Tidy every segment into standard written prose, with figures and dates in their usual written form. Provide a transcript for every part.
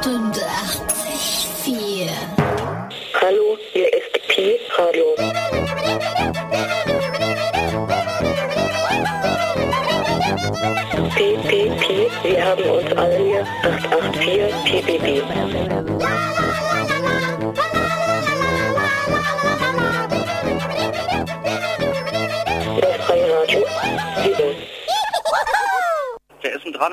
88,4. Hallo, hier ist Pi Radio. Pi, wir haben uns alle hier 884 PBB. Das freie Radio, Sieben. Wer ist denn dran?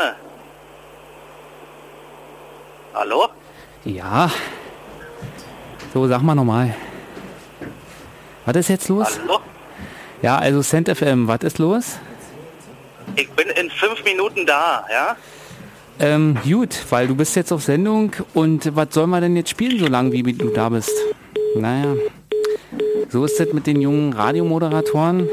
Hallo? Ja. So, sag mal nochmal. Was ist jetzt los? Hallo? Ja, also Cent FM, was ist los? Ich bin in 5 Minuten da, ja? Gut, weil du bist jetzt auf Sendung und was soll man denn jetzt spielen, so lange wie du da bist? Naja, so ist das mit den jungen Radiomoderatoren.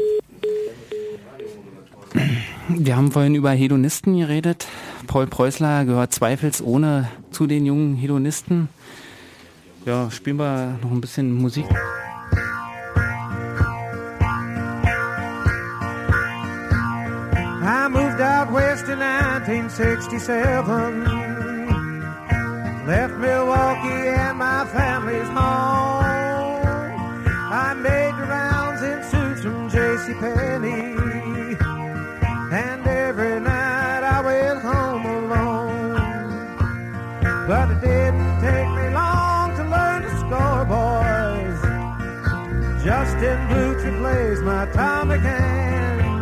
Wir haben vorhin über Hedonisten geredet. Paul Preußler gehört zweifelsohne zu den jungen Hedonisten. Ja, spielen wir noch ein bisschen Musik. I moved out west in 1967, left Milwaukee and my family's home. I made the rounds in suits from JCPenney, and every night I went home alone. But it didn't take me long to learn to score, boys. Justin Blucher plays my atomic hands.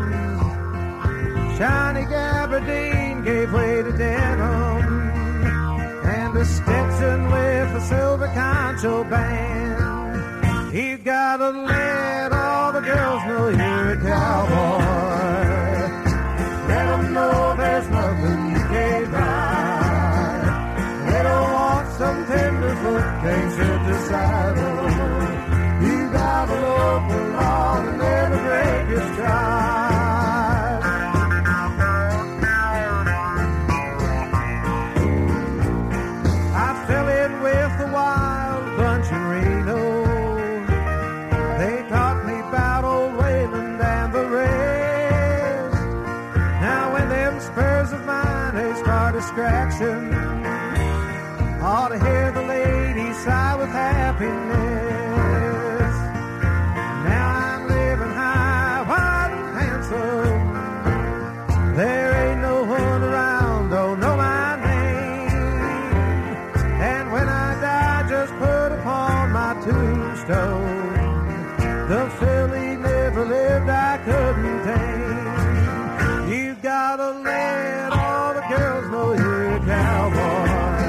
Johnny Gabardine gave way to denim, and a Stetson with a silver concho band. You gotta let all the girls know you're a cowboy. Let them know there's nothing you can't ride. They don't want some tenderfoot, can't sit the saddle. You gotta look along and never break your stride. Distraction. Ought to hear the ladies sigh with happiness. Now I'm living high, wide and handsome. There ain't no one around, don't know my name. And when I die, just put upon my tombstone, the filly never lived, I couldn't tame. You gotta let all the girls know you're a cowboy.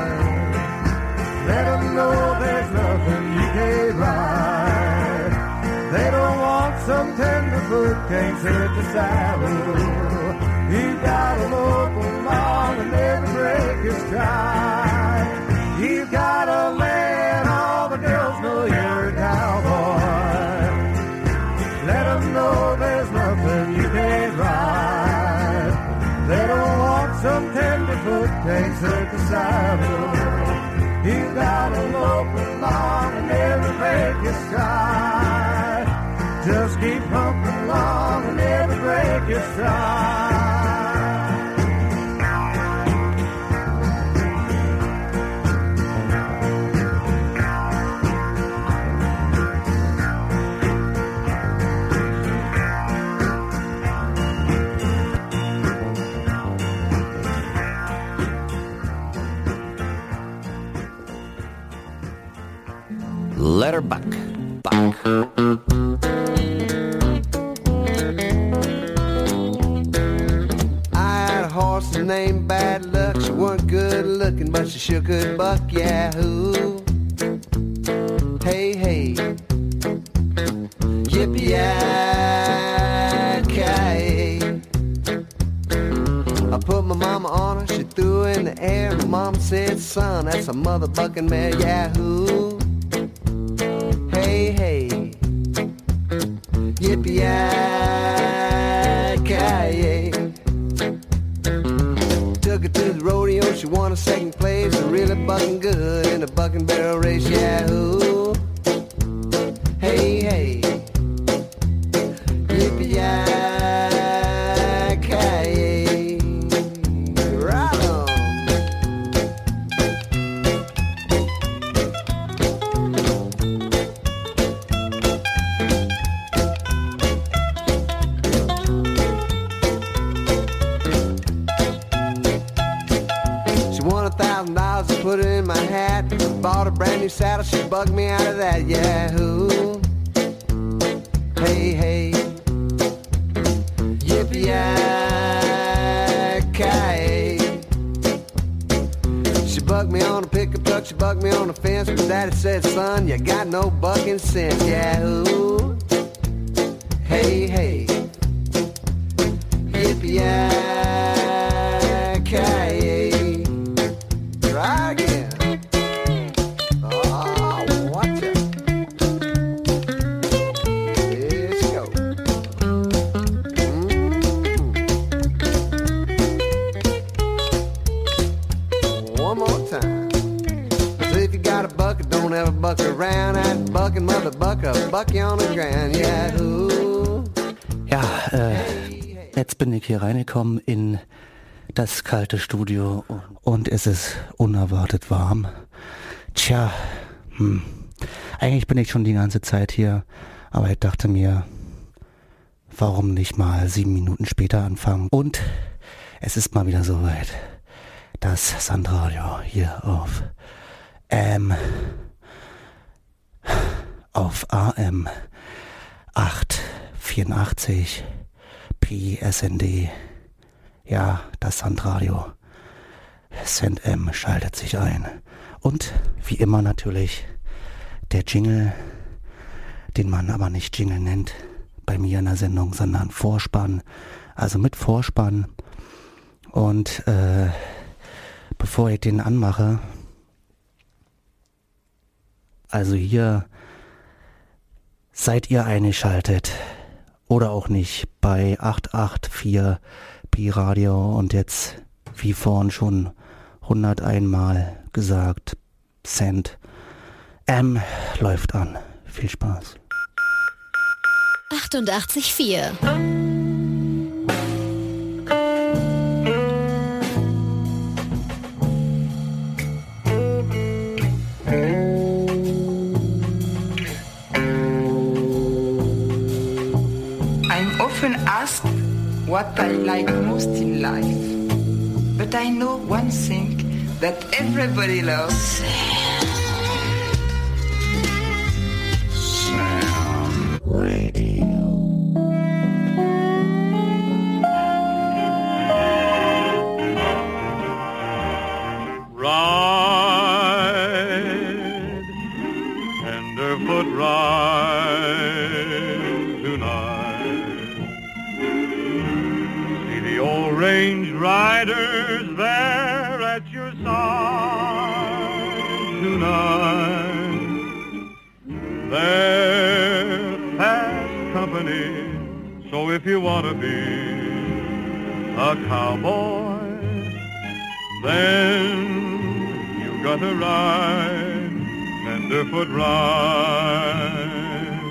Let them know there's nothing you can't ride. They don't want some tenderfoot, can't sit the saddle. You gotta look along and never break your stride. You gotta let all the girls know you're a cowboy. Let them know there's nothing you can't ride. They don't want some tenderfoot, can't sit the saddle. You gotta look along and never break your stride. Just keep pumping along and never break your stride. Let her buck. I had a horse named Bad Luck. She wasn't good looking, but she sure could buck. Yahoo! Hey, hey. Yippee-yi-ki-yay. I put my mama on her, she threw her in the air. My mama said, son, that's a mother bucking mare. Yahoo! Hey, hey, yippee-yi-ki-yay. Took her to the rodeo, she won a second place. Really bucking good in the bucking barrel race. Yahoo! Hey, hey, yippee-yi-ki-yay. Right on. won $1,000 to put it in my hat. Bought a brand new saddle, she bugged me out of that. Yahoo! Hey, hey. Yippee-yi-ki-yay. She bucked me on a pickup truck, she bucked me on a fence, but Daddy said, son, you got no bucking sense. Yahoo! Hey, hey. Yippee-yi-ki-yay. Try again. Oh, watch it. Let's go. One more time. So if you got a bucket, don't ever buck around. That bucking mother bucker, buck you on the ground. Yahoo! Ja, jetzt bin ich hier reingekommen in das kalte Studio und es ist unerwartet warm. Tja, eigentlich bin ich schon die ganze Zeit hier, aber ich dachte mir, warum nicht mal 7 Minuten später anfangen? Und es ist mal wieder soweit. Das Sandradio hier auf AM 884 PSND. Ja, das Sandradio. Send M schaltet sich ein. Und wie immer natürlich der Jingle, den man aber nicht Jingle nennt bei mir in der Sendung, sondern Vorspann. Also mit Vorspann. Und bevor ich den anmache, also hier seid ihr eingeschaltet oder auch nicht bei 884 Pi Radio und jetzt wie vorhin schon 101 Mal gesagt, Send M läuft an. Viel Spaß. 88,4. I'm often asked what I like most in life, but I know one thing that everybody loves. Sam Radio. Ride, tenderfoot ride tonight. See the old range riders there at your side tonight. They're fast company, so if you want to be a cowboy, then you gotta ride, tenderfoot ride.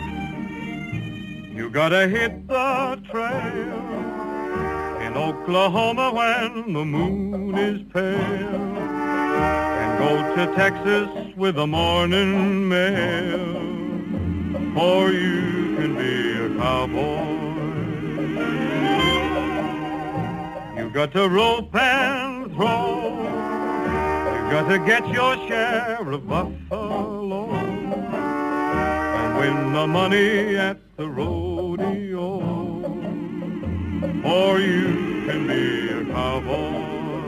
You gotta hit the trail in Oklahoma when the moon is pale, and go to Texas with the morning mail, for you can be a cowboy. You got to rope and throw, you got to get your share of buffalo, and win the money at the rodeo, or you can be a cowboy.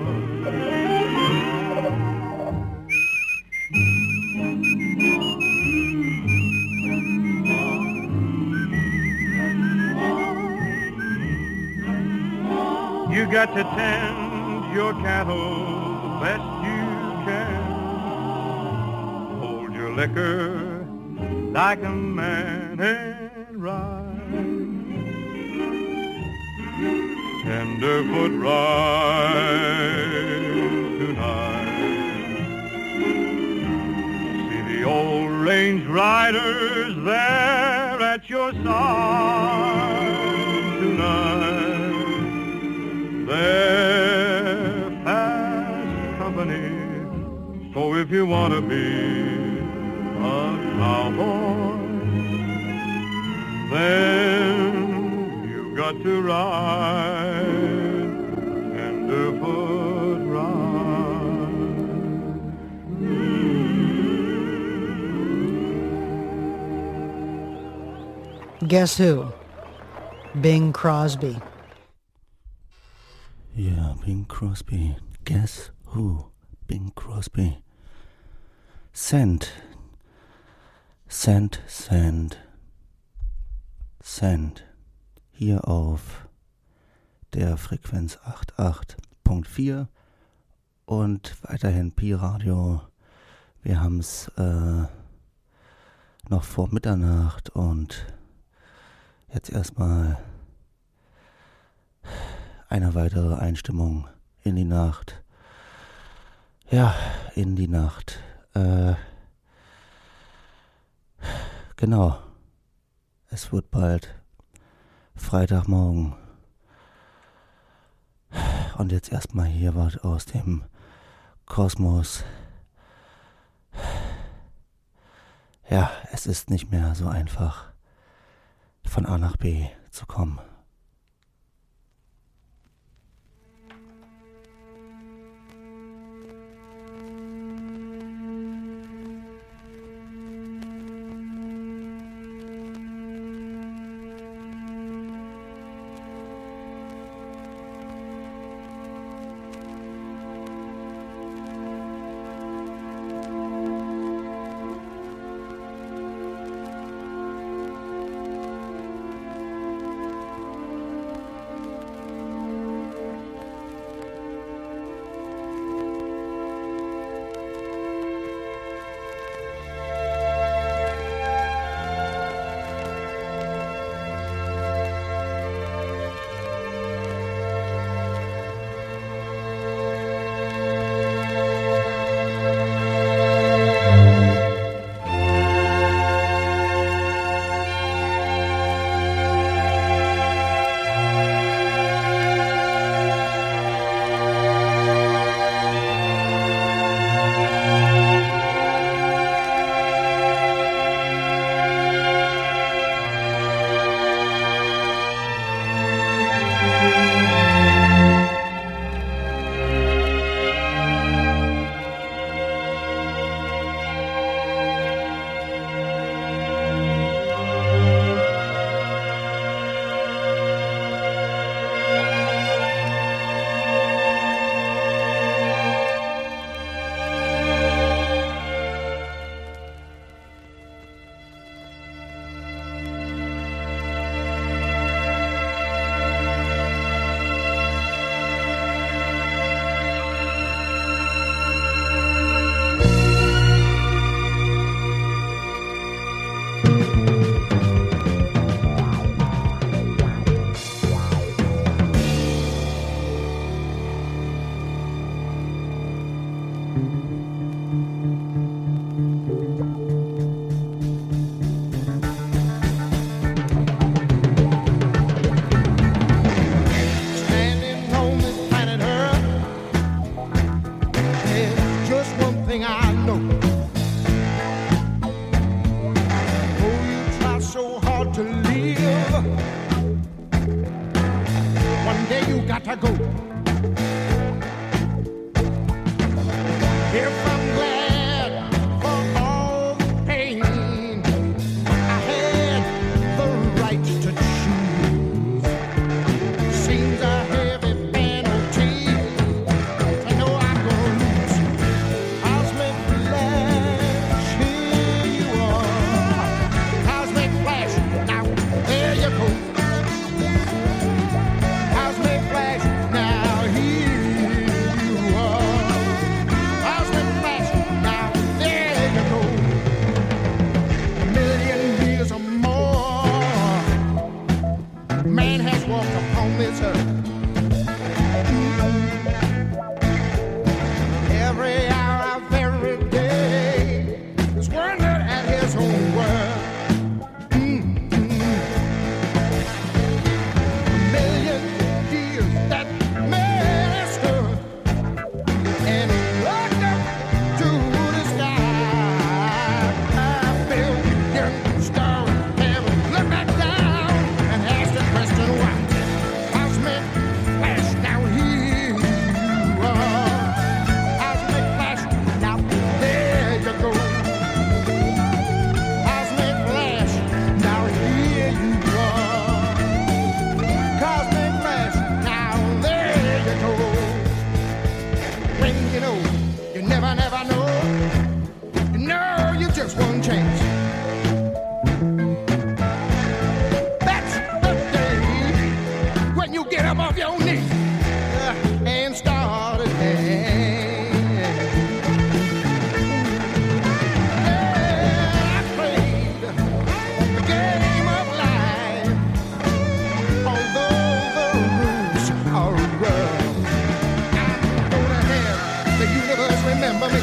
You got to tend your cattle the best you can. Hold your liquor like a man and ride. Tenderfoot ride tonight. See the old range riders there at your side tonight. They're fast company, so if you want to be a cowboy, then you got to ride, tenderfoot ride. Guess who? Bing Crosby. Ja, Bing Crosby. Guess who? Bing Crosby. Send. Send, send. Send. Hier auf der Frequenz 88.4 und weiterhin Pi-Radio. Wir haben es noch vor Mitternacht und jetzt erstmal eine weitere Einstimmung in die Nacht. Ja, in die Nacht. Genau. Es wird bald Freitagmorgen. Und jetzt erstmal hier was aus dem Kosmos. Ja, es ist nicht mehr so einfach, von A nach B zu kommen. Now thing you know, you never know. No, you just one chance. That's the day when you get up off your knees and start again. I played the game of life, although the rules are rough. I'm gonna have the universe remember me.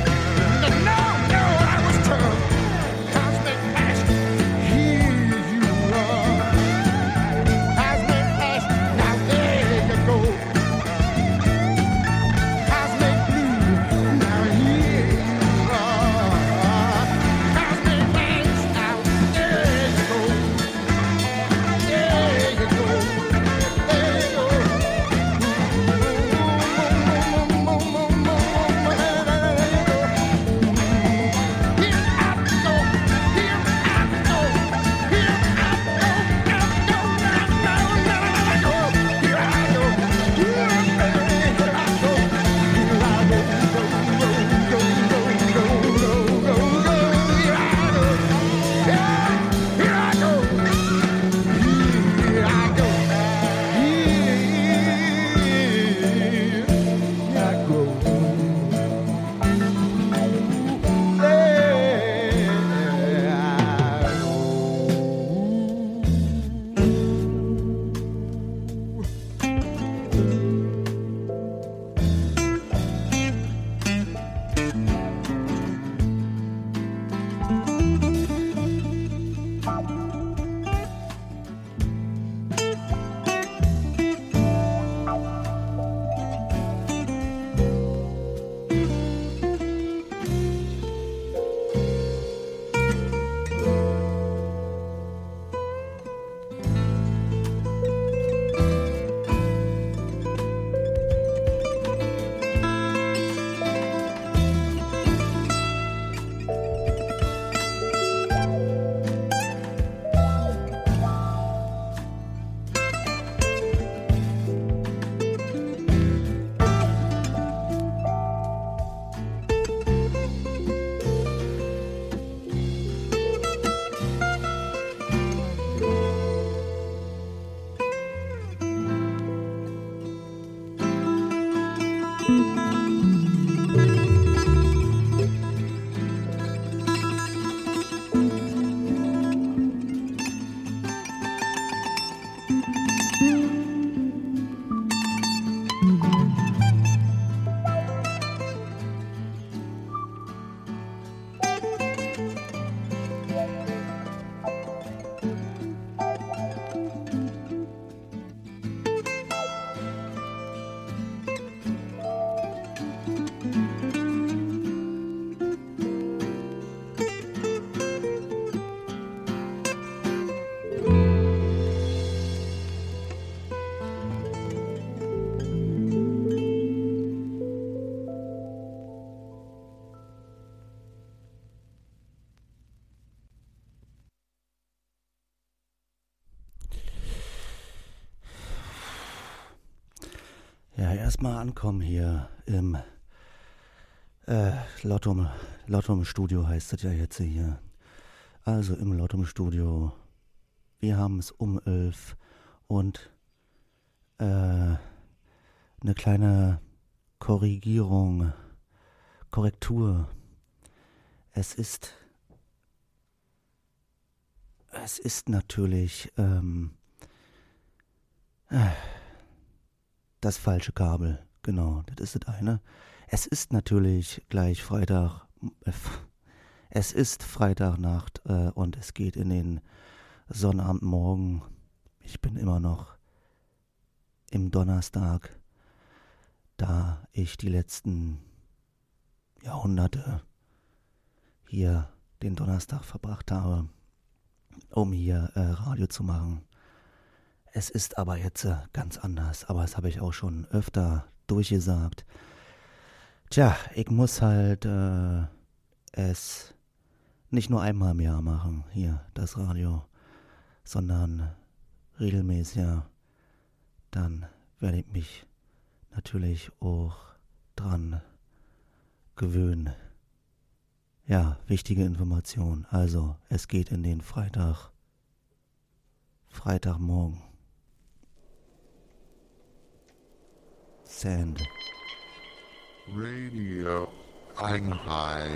Erstmal ankommen hier im Lottum Studio heißt es ja jetzt hier. Also im Lottum Studio. Wir haben es um 11 und eine kleine Korrektur. Es ist natürlich das falsche Kabel, genau, das ist das eine. Es ist natürlich gleich Freitag, es ist Freitagnacht und es geht in den Sonnabendmorgen. Ich bin immer noch im Donnerstag, da ich die letzten Jahrhunderte hier den Donnerstag verbracht habe, um hier Radio zu machen. Es ist aber jetzt ganz anders, aber das habe ich auch schon öfter durchgesagt. Tja, ich muss halt es nicht nur einmal im Jahr machen, hier das Radio, sondern regelmäßiger. Dann werde ich mich natürlich auch dran gewöhnen. Ja, wichtige Information. Also, es geht in den Freitagmorgen. Sand. Radio Einheit.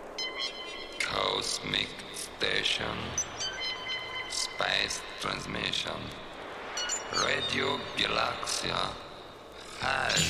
Cosmic Station. Space Transmission. Radio Galaxia. Halt.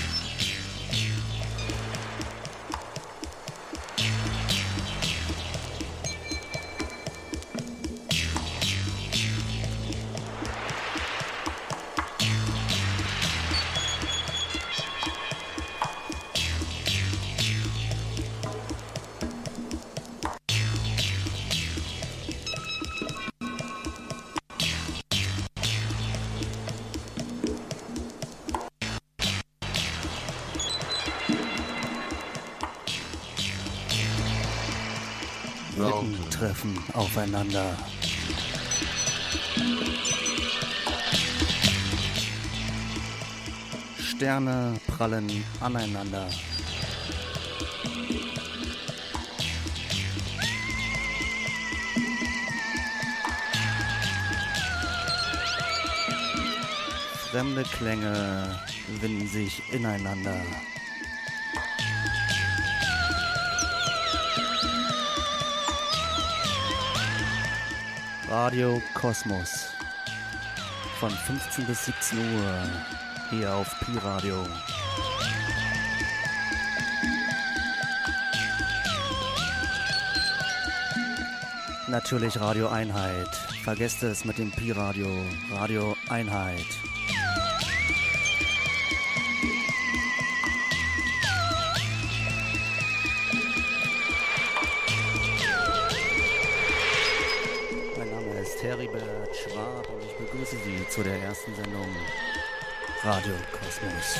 Welten treffen aufeinander. Sterne prallen aneinander. Fremde Klänge winden sich ineinander. Radio Kosmos von 15 bis 17 Uhr hier auf Pi-Radio. Natürlich Radio Einheit. Vergesst es mit dem Pi-Radio. Radio Einheit. Heribert Schwab und ich begrüße Sie zu der ersten Sendung Radio Kosmos.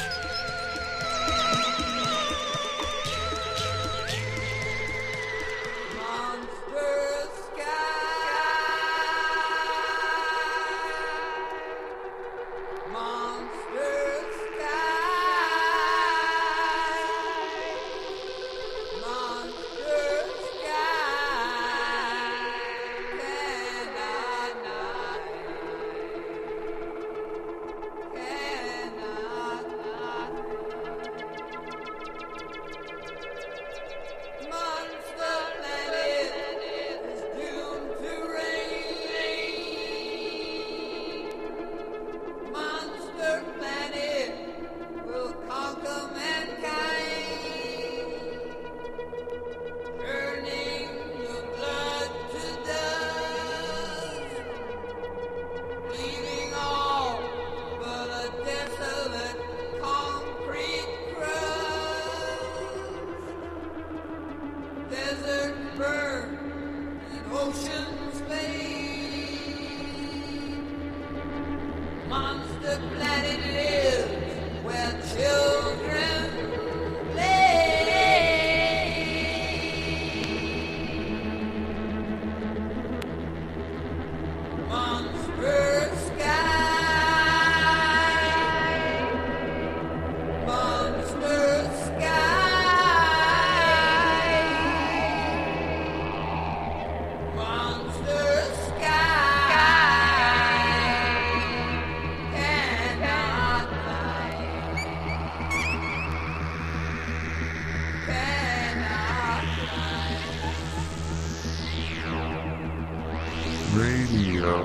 Radio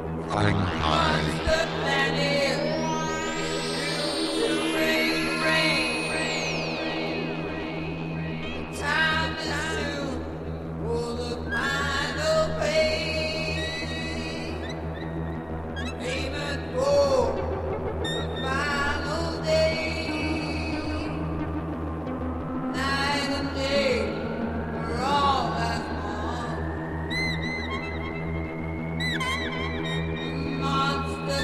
Einheit. Monster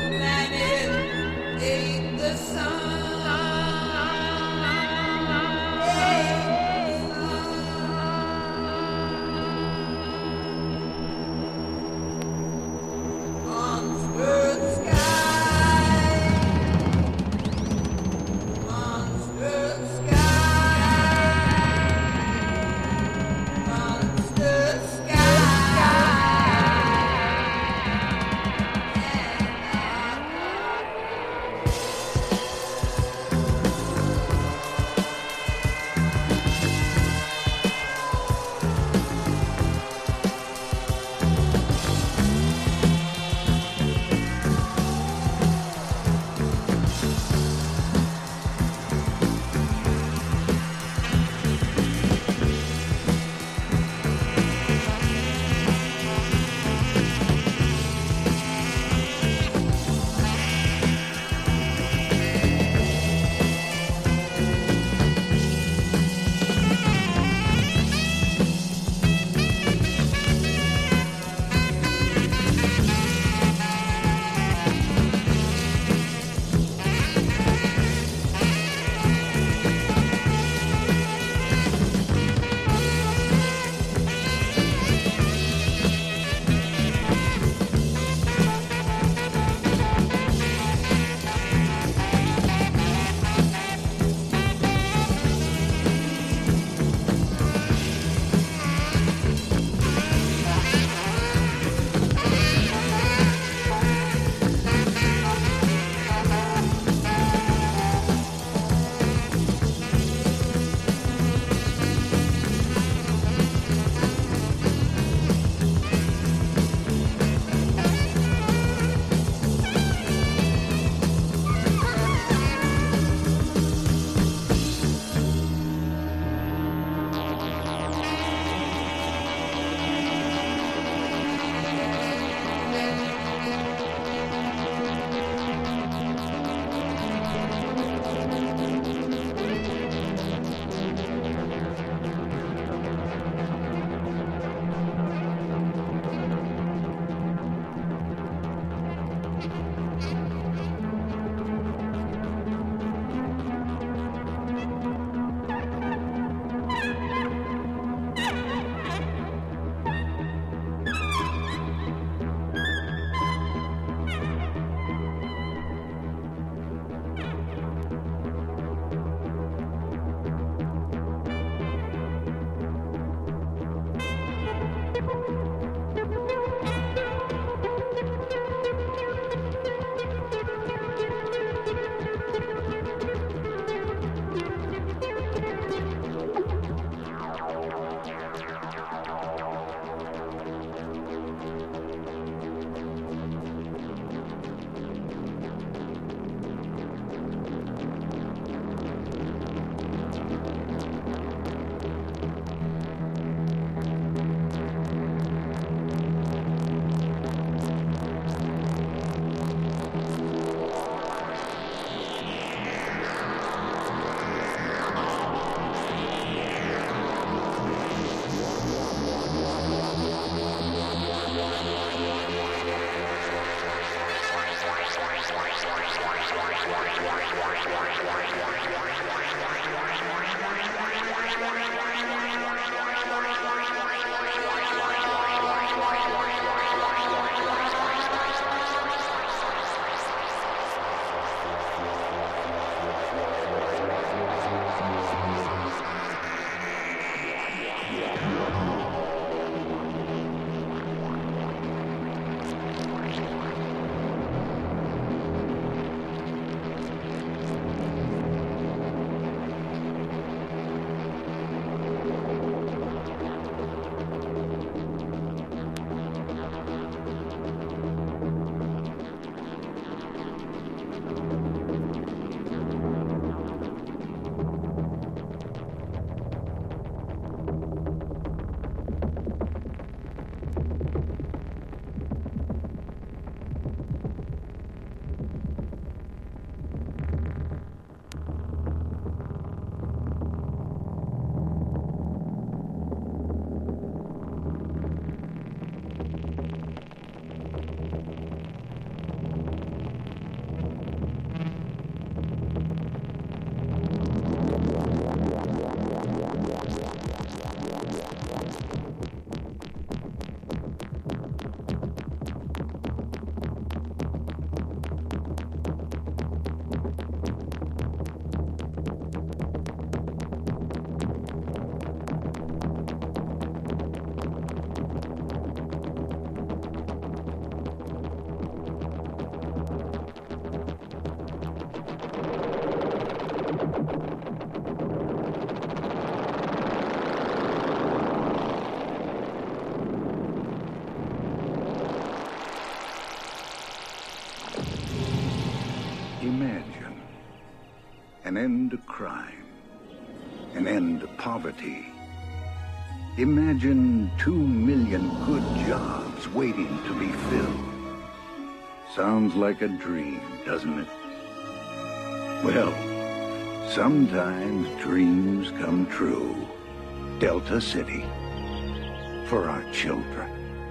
end to crime, an end to poverty. Imagine 2 million good jobs waiting to be filled. Sounds like a dream, doesn't it? Well, sometimes dreams come true. Delta City, for our children.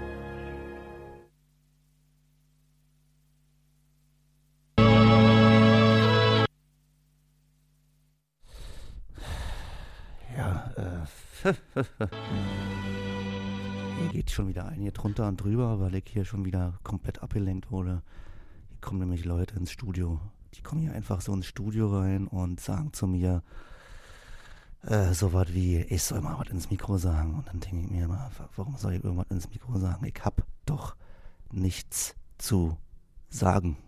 Ja, hier geht schon wieder ein hier drunter und drüber, weil ich hier schon wieder komplett abgelenkt wurde. Hier kommen nämlich Leute ins Studio. Die kommen hier einfach so ins Studio rein und sagen zu mir so was wie, ich soll mal was ins Mikro sagen. Und dann denke ich mir immer, warum soll ich irgendwas ins Mikro sagen? Ich hab doch nichts zu sagen.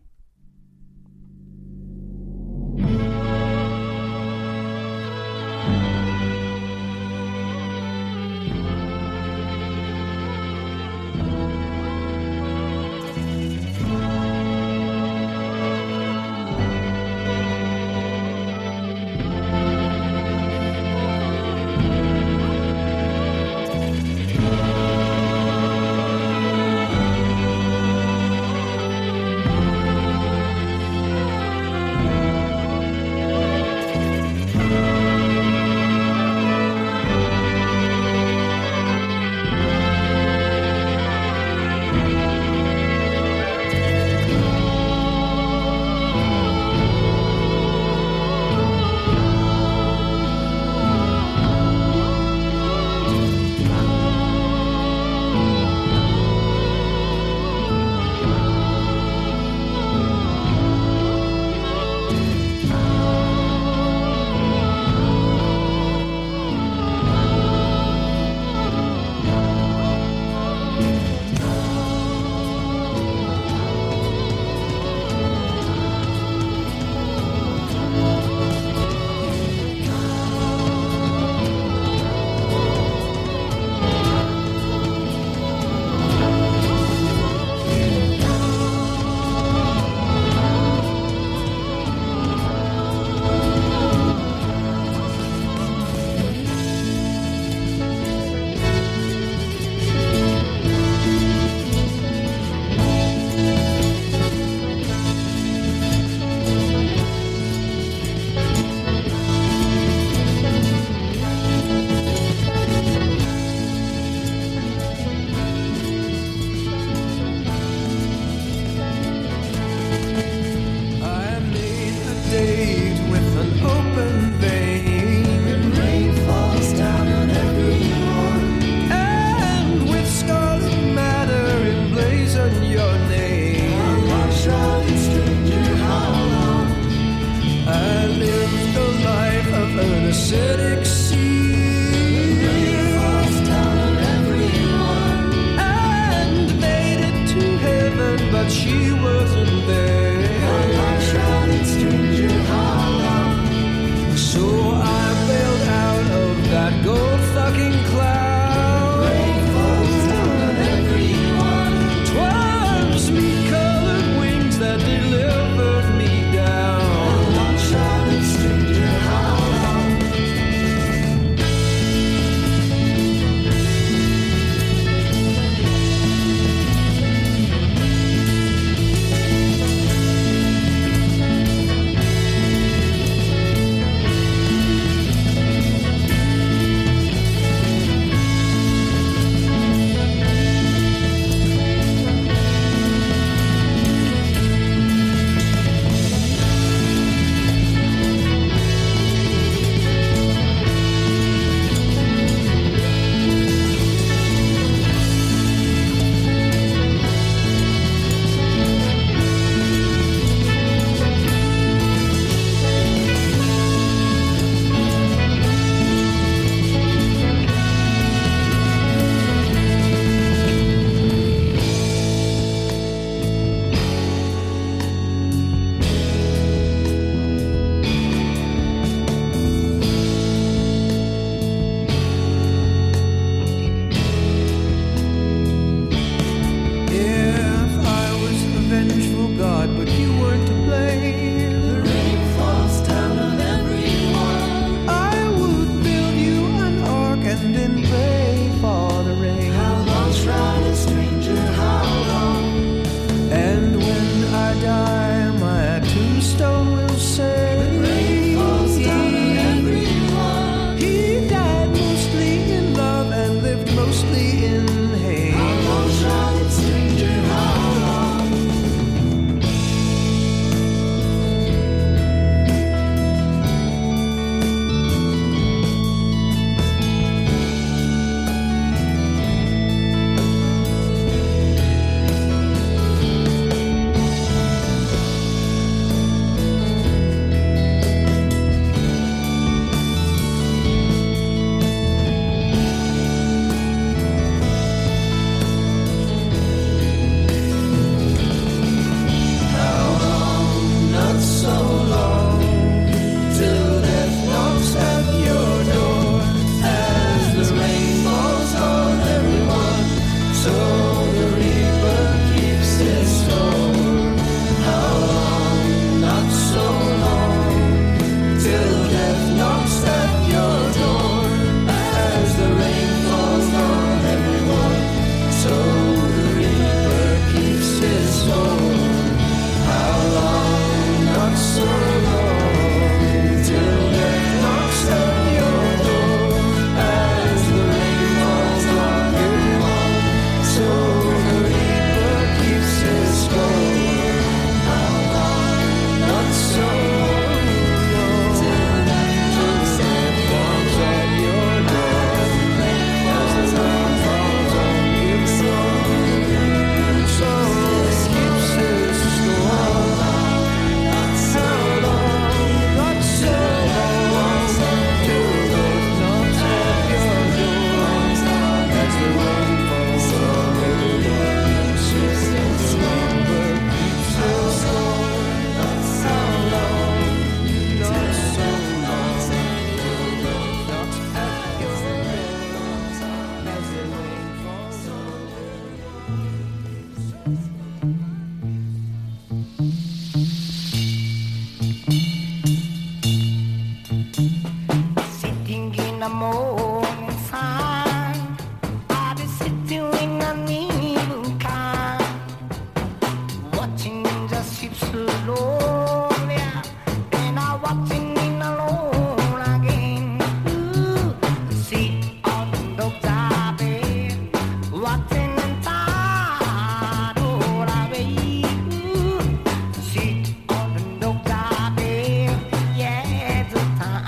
the morning sun, I'll be sitting in the middle car, watching the ships alone, yeah, and I'm watching in alone again. Ooh, sit on the bed, watching the tide roll away. Ooh, sit on the bed, yeah, the time.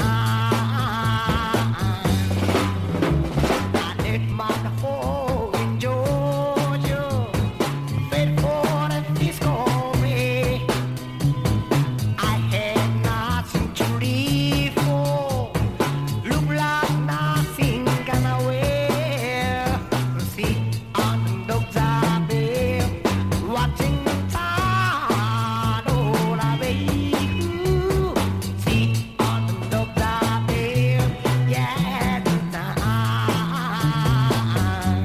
I let my home in Georgia, wait for the discovery. I had nothing to live for, look like nothing gonna wear. Sit on the bed, watching the tide roll away. Ooh, sit on the bed, yeah, the time.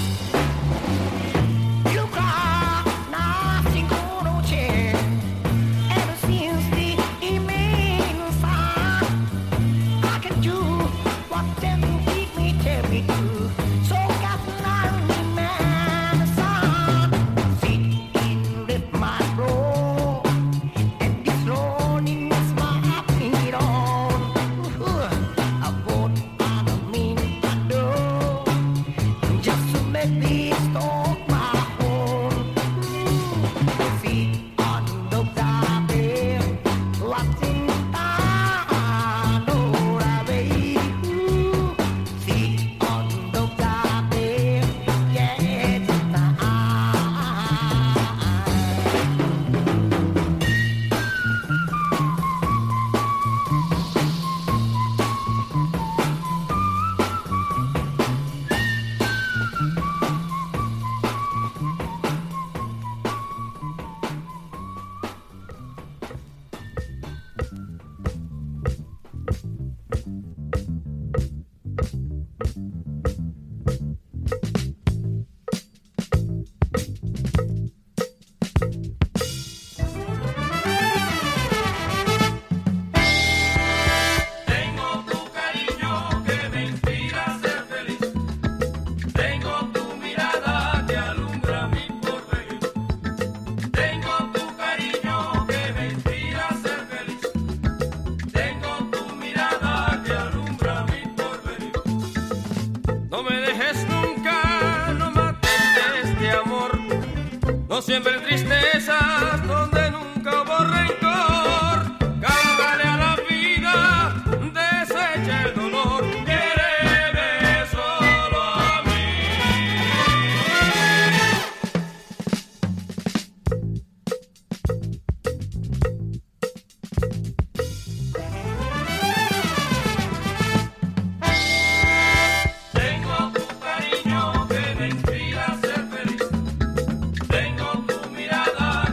You got nothing gonna change ever since the evening sun. I can do what them keep me, tell me to. So got lonely man, son. Sit in with my bro, and this loneliness might need on. I won't mean I do, just to make me stop my home. Sit on the bed, watching time roll away. Sit on the bed, yeah, the time. Tengo tu cariño que me inspira a ser feliz. Tengo tu mirada que alumbra mi porvenir. Tengo tu cariño que me inspira a ser feliz. Tengo tu mirada que alumbra mi porvenir. No me dejes nunca, no mates de este amor. No siembres tristezas donde nunca hubo rencor. Cántale a la vida, desecha el dolor. Quéreme solo a mí. Tengo tu cariño que me inspira a ser feliz. Tengo tu mirada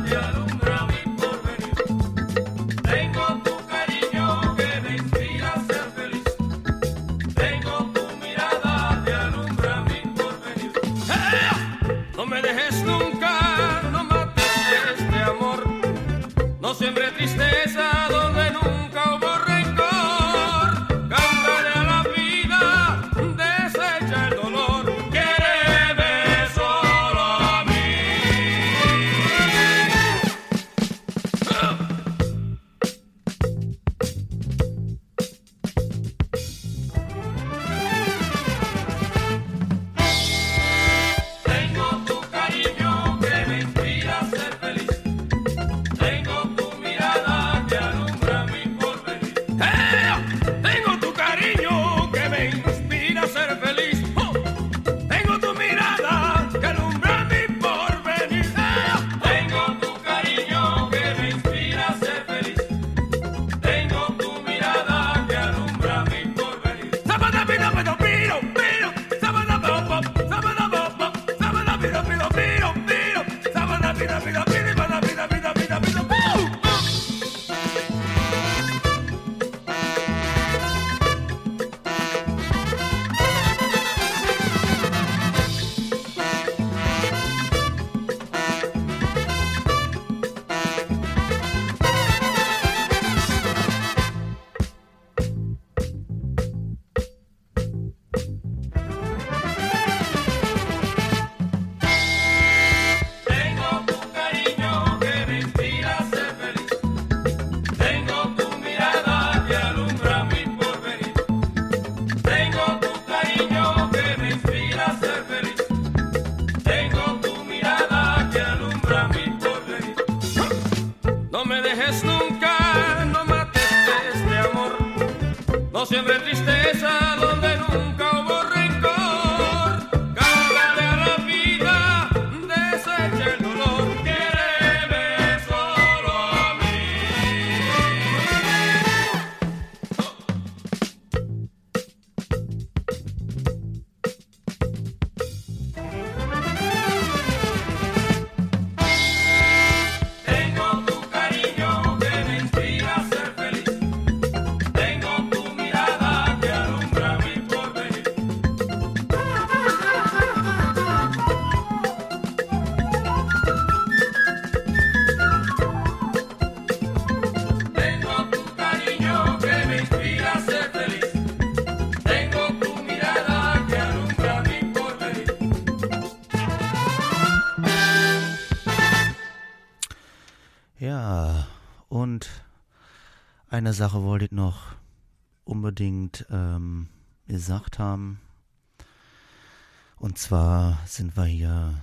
Eine Sache wollte ich noch unbedingt gesagt haben. Und zwar sind wir hier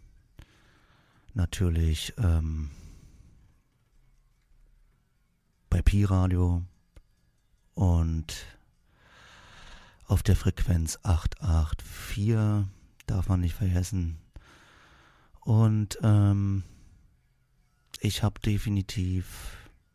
natürlich bei Pi-Radio und auf der Frequenz 884, darf man nicht vergessen. Und ich habe definitiv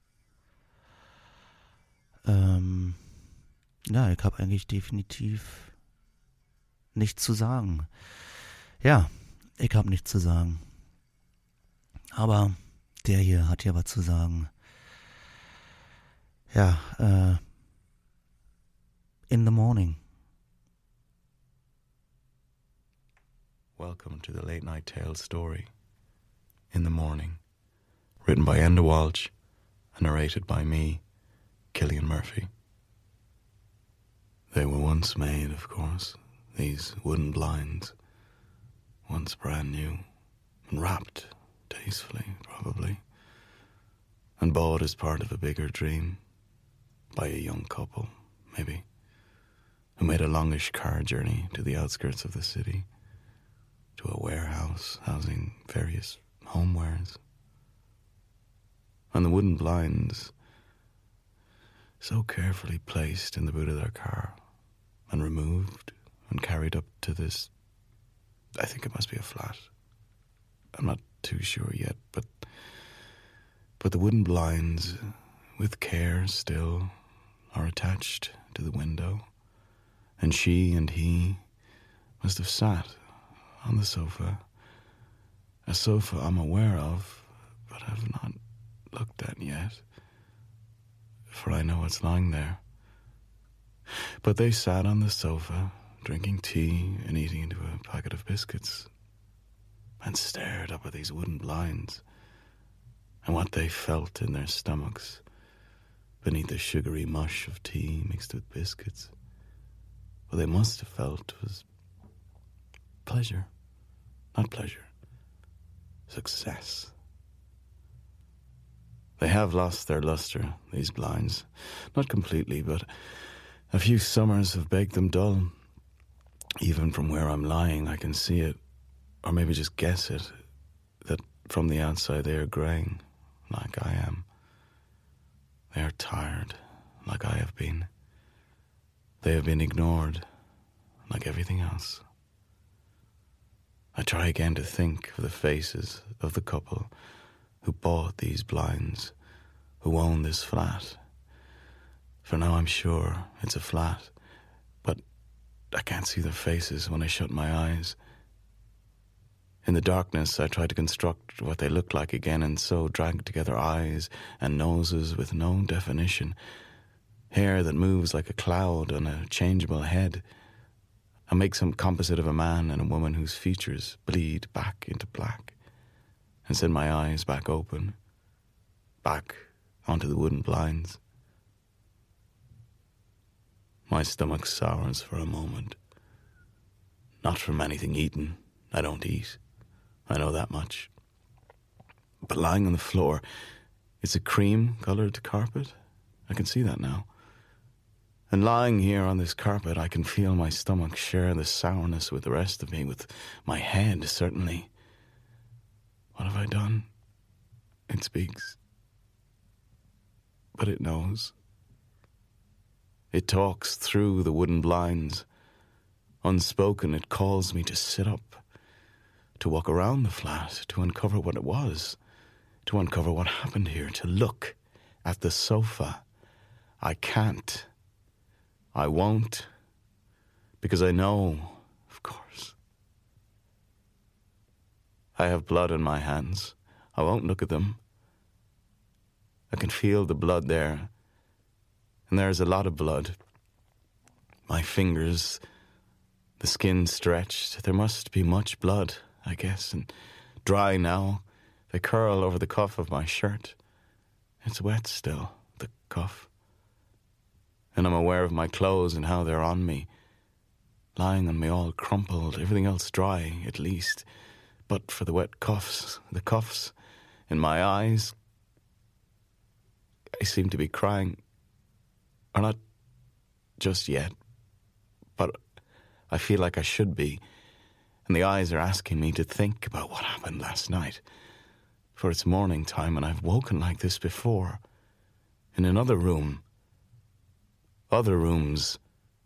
ich habe eigentlich definitiv nichts zu sagen. Ja, ich habe nichts zu sagen. Aber der hier hat ja was zu sagen. Ja, in the morning. Welcome to the Late Night Tales story, In the Morning, written by Enda Walsh and narrated by me, Killian Murphy. They were once made, of course, these wooden blinds, once brand new, and wrapped tastefully, probably, and bought as part of a bigger dream by a young couple, maybe, who made a longish car journey to the outskirts of the city, to a warehouse housing various homewares. And the wooden blinds, so carefully placed in the boot of their car and removed and carried up to this, I think it must be a flat. I'm not too sure yet, but the wooden blinds, with care still, are attached to the window, and she and he must have sat on the sofa, a sofa I'm aware of, but have not looked at yet, for I know it's lying there. But they sat on the sofa, drinking tea and eating into a packet of biscuits, and stared up at these wooden blinds, and what they felt in their stomachs beneath the sugary mush of tea mixed with biscuits. What they must have felt was pleasure. Not pleasure. Success. They have lost their luster, these blinds. Not completely, but a few summers have baked them dull. Even from where I'm lying, I can see it, or maybe just guess it, that from the outside they are greying, like I am. They are tired, like I have been. They have been ignored, like everything else. I try again to think of the faces of the couple who bought these blinds, who own this flat. For now I'm sure it's a flat, but I can't see their faces when I shut my eyes. In the darkness, I try to construct what they look like again, and so drag together eyes and noses with no definition, hair that moves like a cloud on a changeable head. I make some composite of a man and a woman whose features bleed back into black, and send my eyes back open, back onto the wooden blinds. My stomach sours for a moment. Not from anything eaten. I don't eat. I know that much. But lying on the floor, it's a cream-coloured carpet. I can see that now. And lying here on this carpet, I can feel my stomach share the sourness with the rest of me, with my head, certainly. What have I done? It speaks. But it knows. It talks through the wooden blinds. Unspoken, it calls me to sit up, to walk around the flat, to uncover what it was, to uncover what happened here, to look at the sofa. I can't. I won't. Because I know, of course. I have blood in my hands. I won't look at them. I can feel the blood there. And there is a lot of blood. My fingers, the skin stretched. There must be much blood, I guess, and dry now. They curl over the cuff of my shirt. It's wet still, the cuff. And I'm aware of my clothes and how they're on me, lying on me all crumpled, everything else dry, at least. But for the wet cuffs, the cuffs in my eyes. I seem to be crying. Or not just yet, but I feel like I should be. And the eyes are asking me to think about what happened last night. For it's morning time and I've woken like this before. In another room. Other rooms.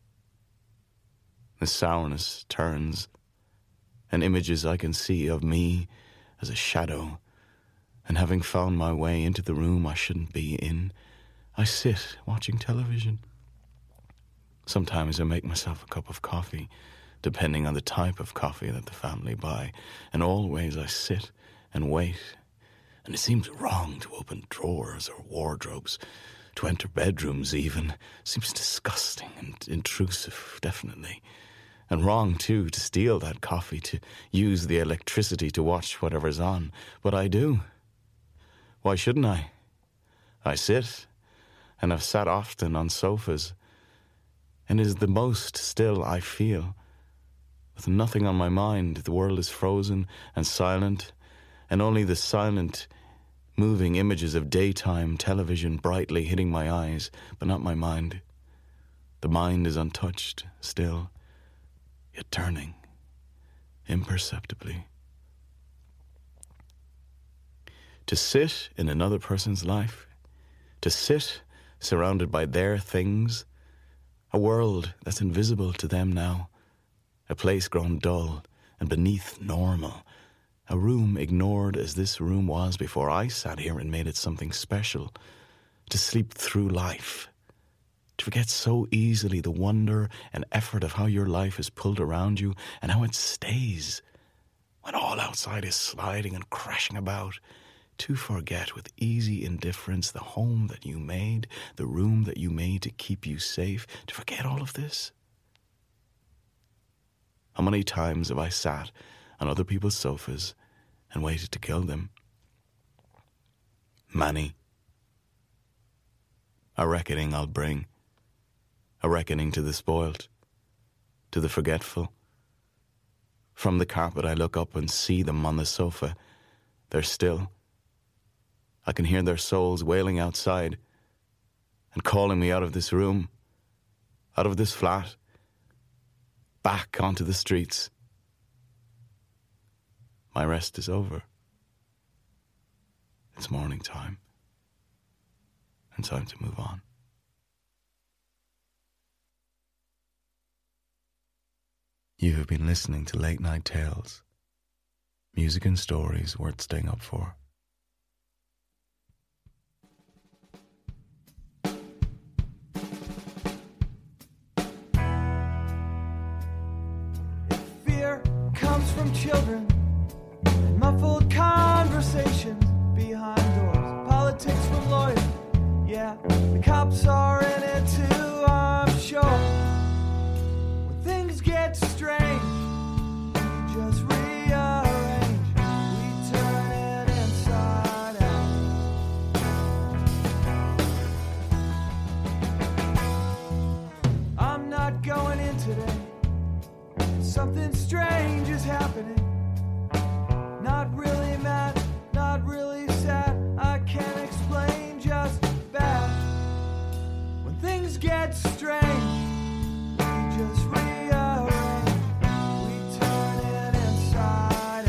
The sourness turns. And images I can see of me as a shadow. And having found my way into the room I shouldn't be in, I sit watching television. Sometimes I make myself a cup of coffee, depending on the type of coffee that the family buy, and always I sit and wait. And it seems wrong to open drawers or wardrobes, to enter bedrooms even. Seems disgusting and intrusive, definitely. And wrong, too, to steal that coffee, to use the electricity to watch whatever's on. But I do. Why shouldn't I? I sit, and I've sat often on sofas, and it is the most still I feel. With nothing on my mind, the world is frozen and silent, and only the silent, moving images of daytime television brightly hitting my eyes, but not my mind. The mind is untouched, still, yet turning, imperceptibly. To sit in another person's life, to sit surrounded by their things, a world that's invisible to them now, a place grown dull and beneath normal, a room ignored as this room was before I sat here and made it something special, to sleep through life, to forget so easily the wonder and effort of how your life is pulled around you and how it stays when all outside is sliding and crashing about, to forget with easy indifference the home that you made, the room that you made to keep you safe, to forget all of this. How many times have I sat on other people's sofas and waited to kill them? Many. A reckoning I'll bring. A reckoning to the spoilt, to the forgetful. From the carpet I look up and see them on the sofa. They're still. I can hear their souls wailing outside and calling me out of this room, out of this flat, back onto the streets. My rest is over. It's morning time, and time to move on. You have been listening to Late Night Tales, music and stories worth staying up for. Fear comes from children, muffled conversations behind doors, politics from lawyers. Yeah, the cops are in it too, I'm sure. When things get strange, we just rearrange. We turn it inside out. I'm not going in today. Something strange is happening. Not really mad, not really sad. I can't explain, just bad. When things get strange, we just rearrange. We turn it inside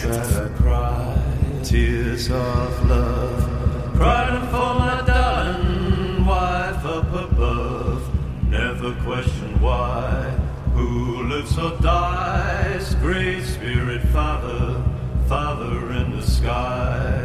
that I cried, tears of love, crying for my darling wife up above. Never question why, who lives or dies, great spirit Father, Father in the sky.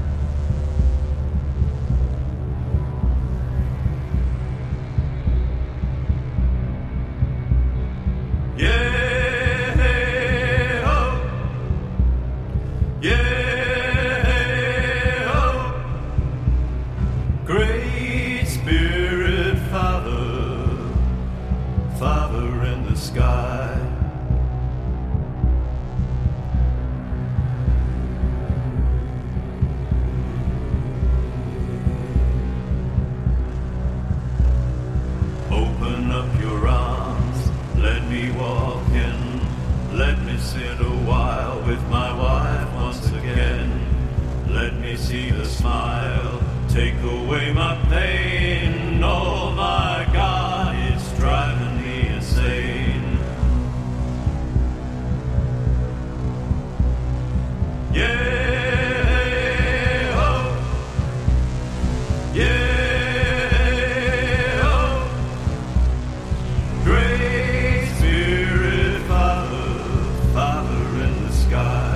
See the smile, take away my pain. Oh my God, it's driving me insane. Yeah, oh, yeah, oh, great spirit Father, Father in the sky.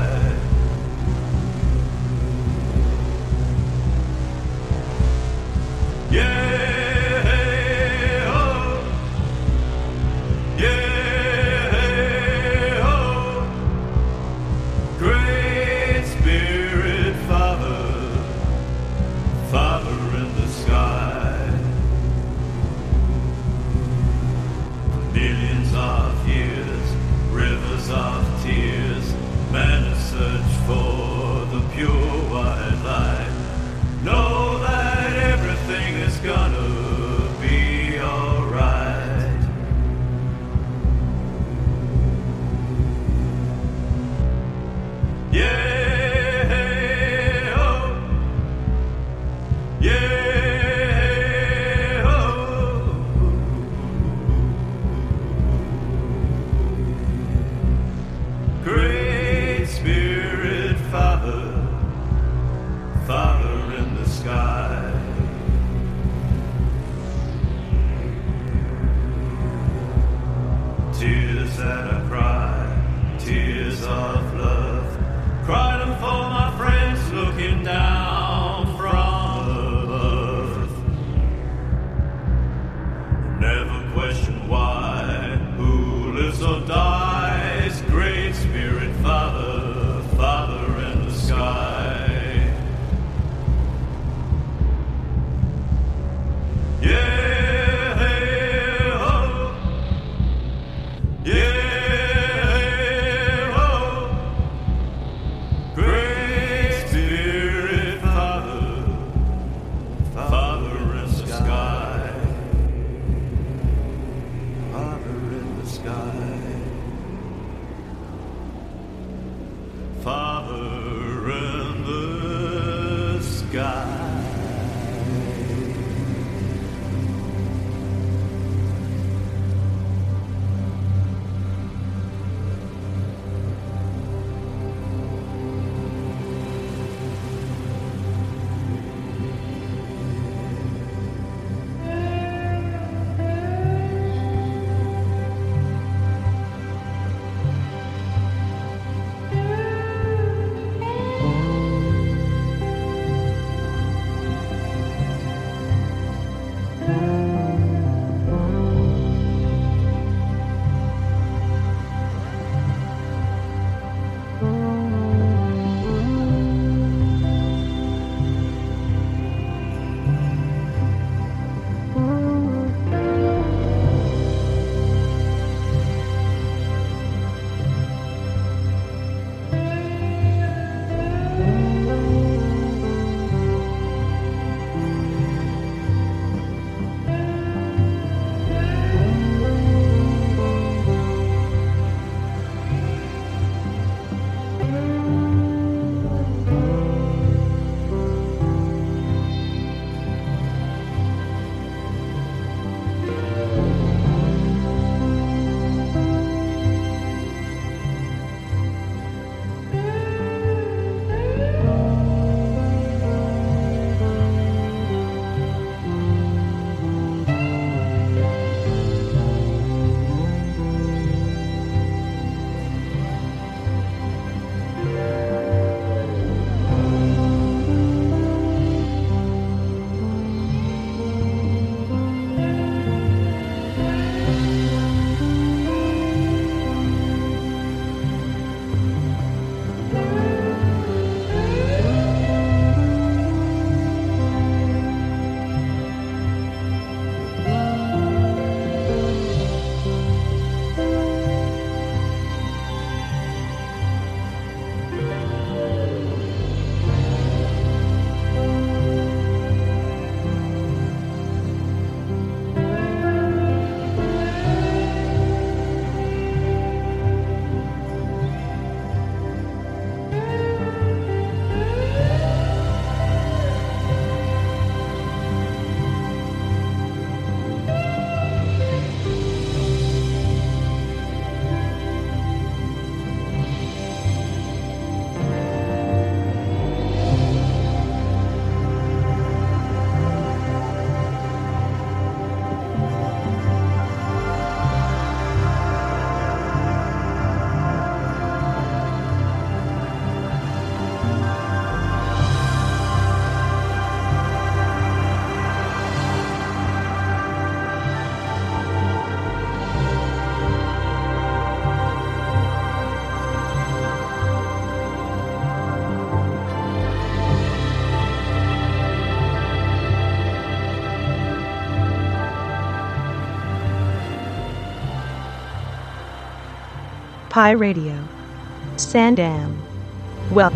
Pi Radio. Sandam. Well.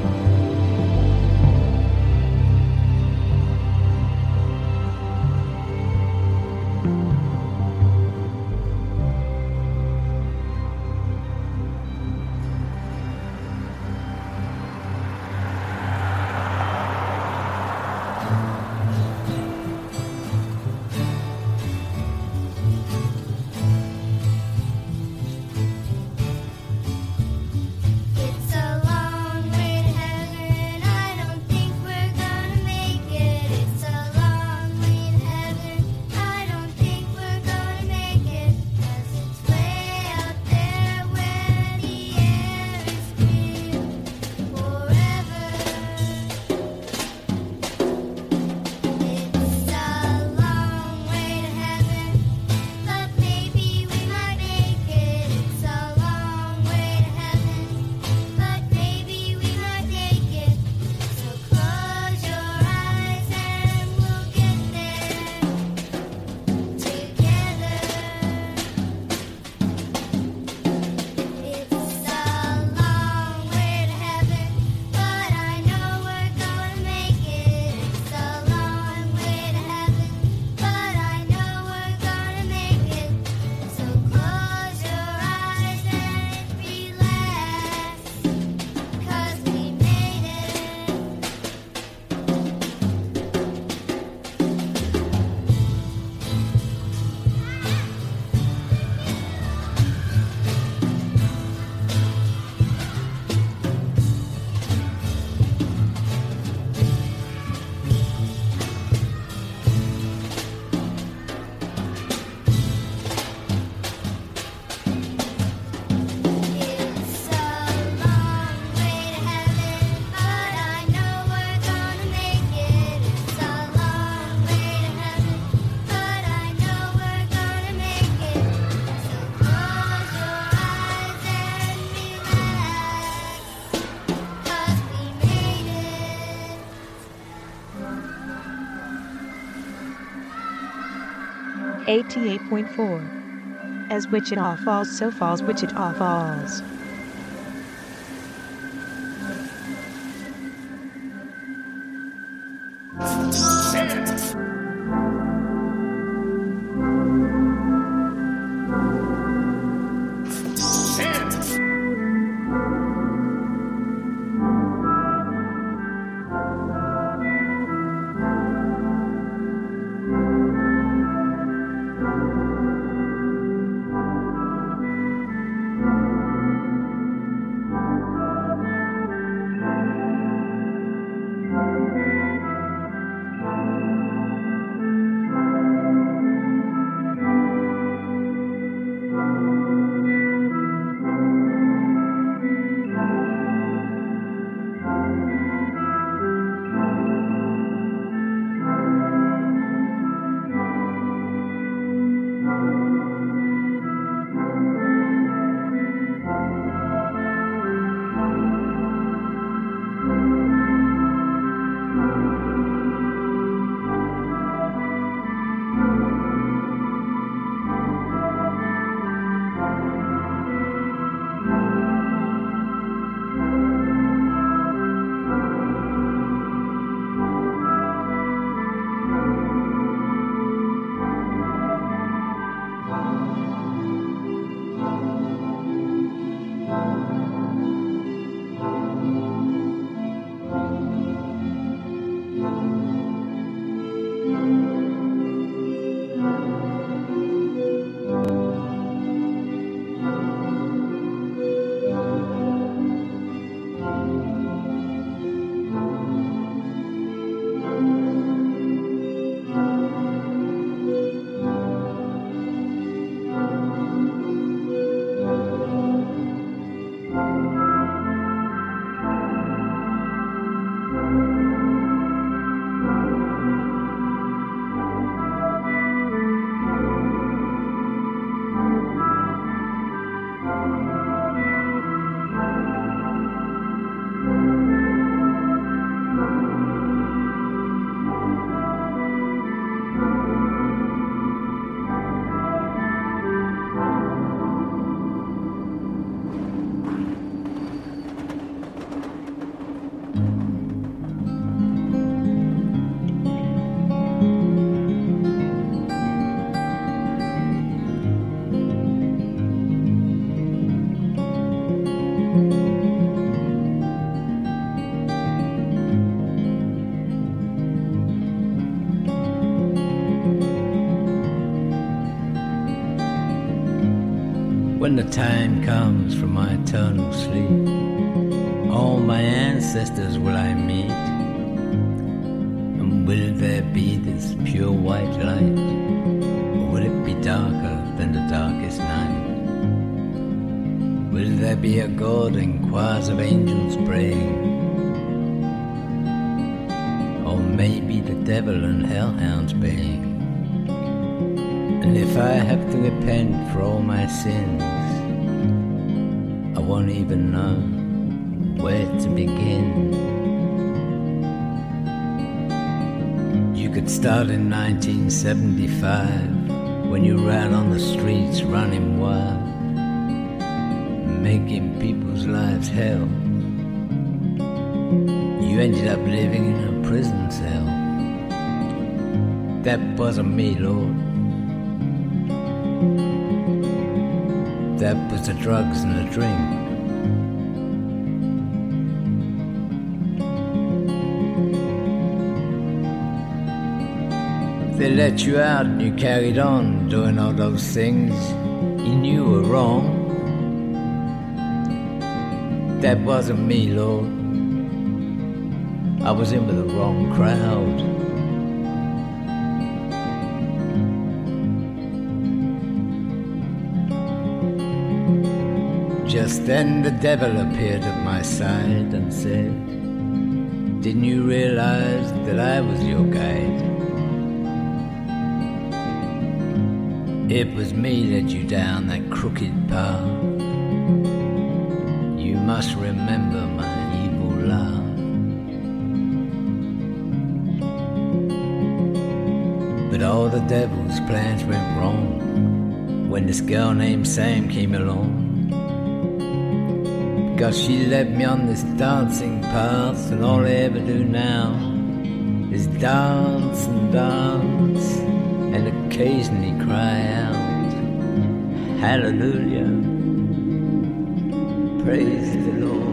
.4. As Wichita Falls, so falls Wichita Falls. when the time comes for my eternal sleep, all my ancestors will I meet, and will there be this pure white light, or will it be darker than the darkest night? Will there be a God and choirs of angels praying, or maybe the devil and hellhounds baying? And if I have to repent for all my sins, I won't even know where to begin. You could start in 1975, when you ran on the streets running wild, making people's lives hell. You ended up living in a prison cell. That wasn't me, Lord. That was the drugs and the drink. They let you out and you carried on doing all those things you knew were wrong. That wasn't me, Lord. I was in with the wrong crowd. Just then the devil appeared at my side and said, "Didn't you realize that I was your guide? It was me led you down that crooked path. You must remember my evil laugh." But all the devil's plans went wrong when this girl named Sam came along. Because she led me on this dancing path, and all I ever do now is dance and dance, and occasionally cry out, "Hallelujah, praise the Lord."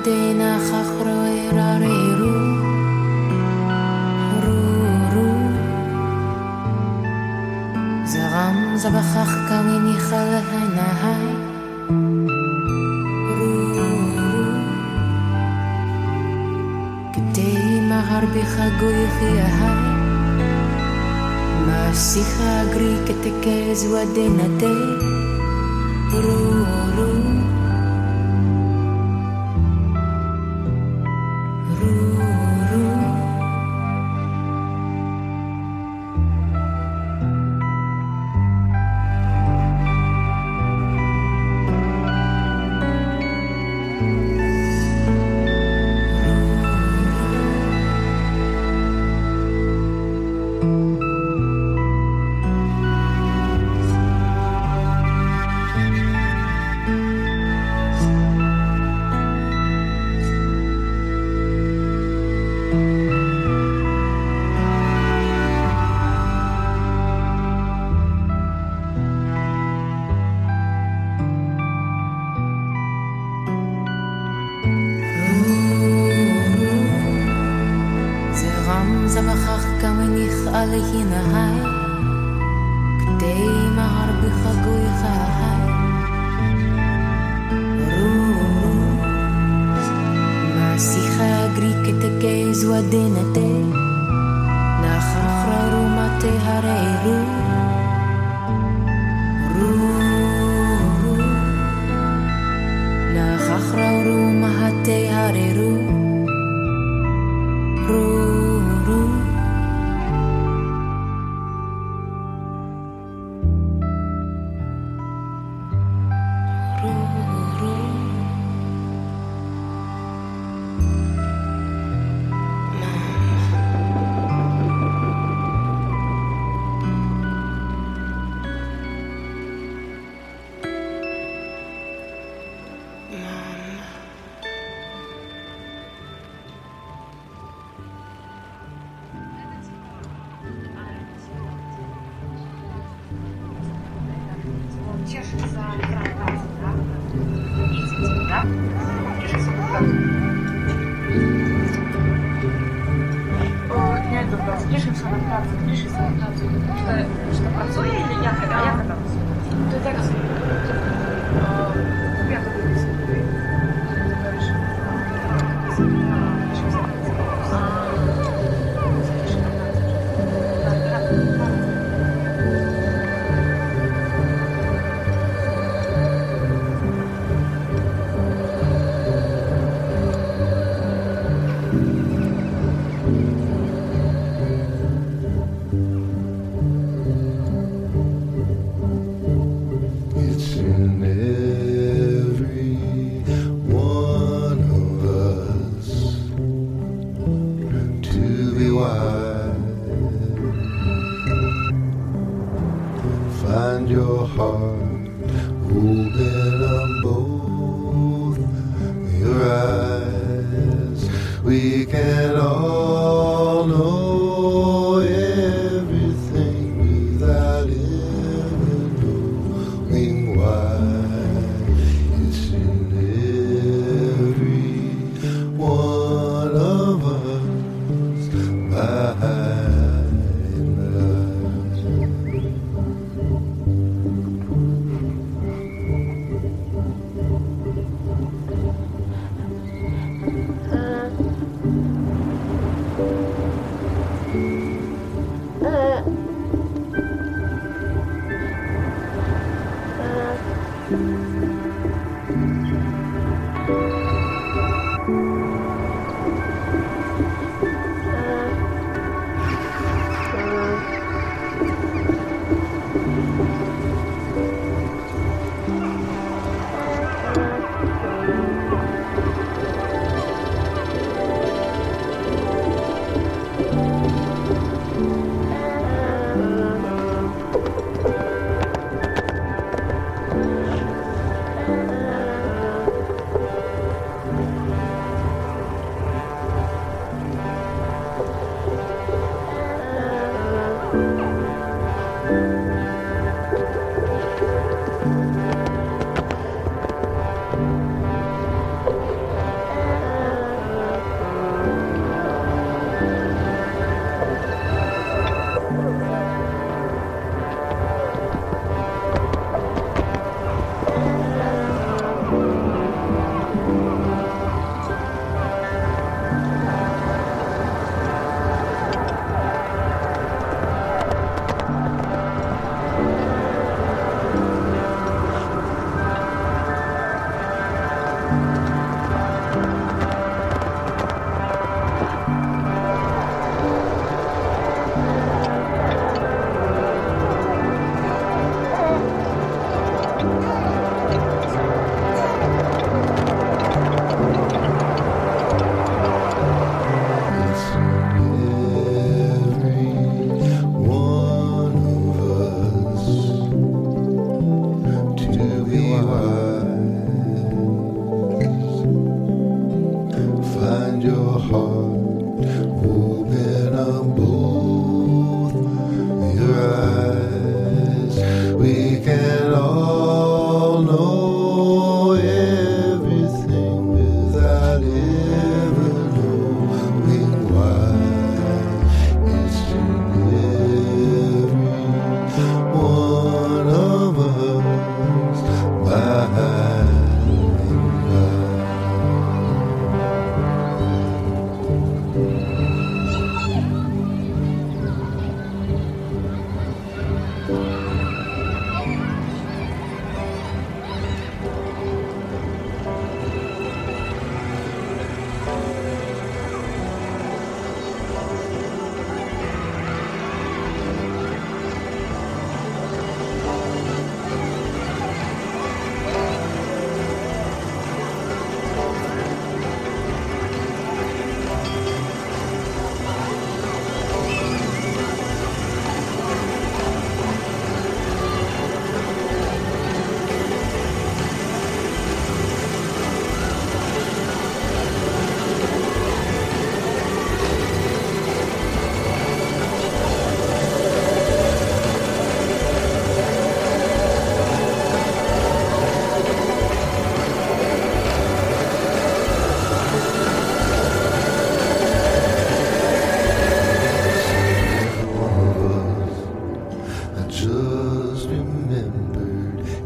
Tena chachroerareru Ruru Zaram zabachach kawini chalhanahai Ruru Ketei mahar bichagoyechi ahai Masicha agri ketekez wadenate Ruru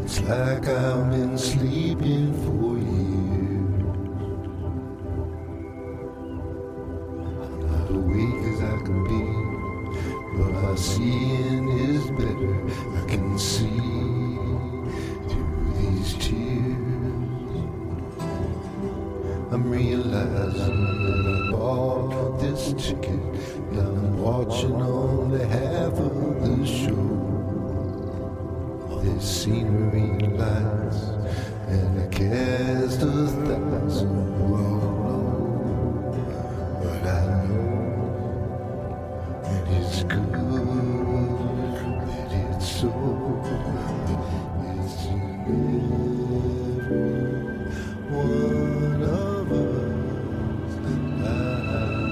It's like I've been sleeping for years. I'm not awake as I can be, but my seeing is better. I can see through these tears. I'm realizing that I bought this ticket. Now I'm watching only half of the show. There's scenery and lights, and a cast of 1,000 who all know. But I know that it's good, that it's so. It's in every one of us alive.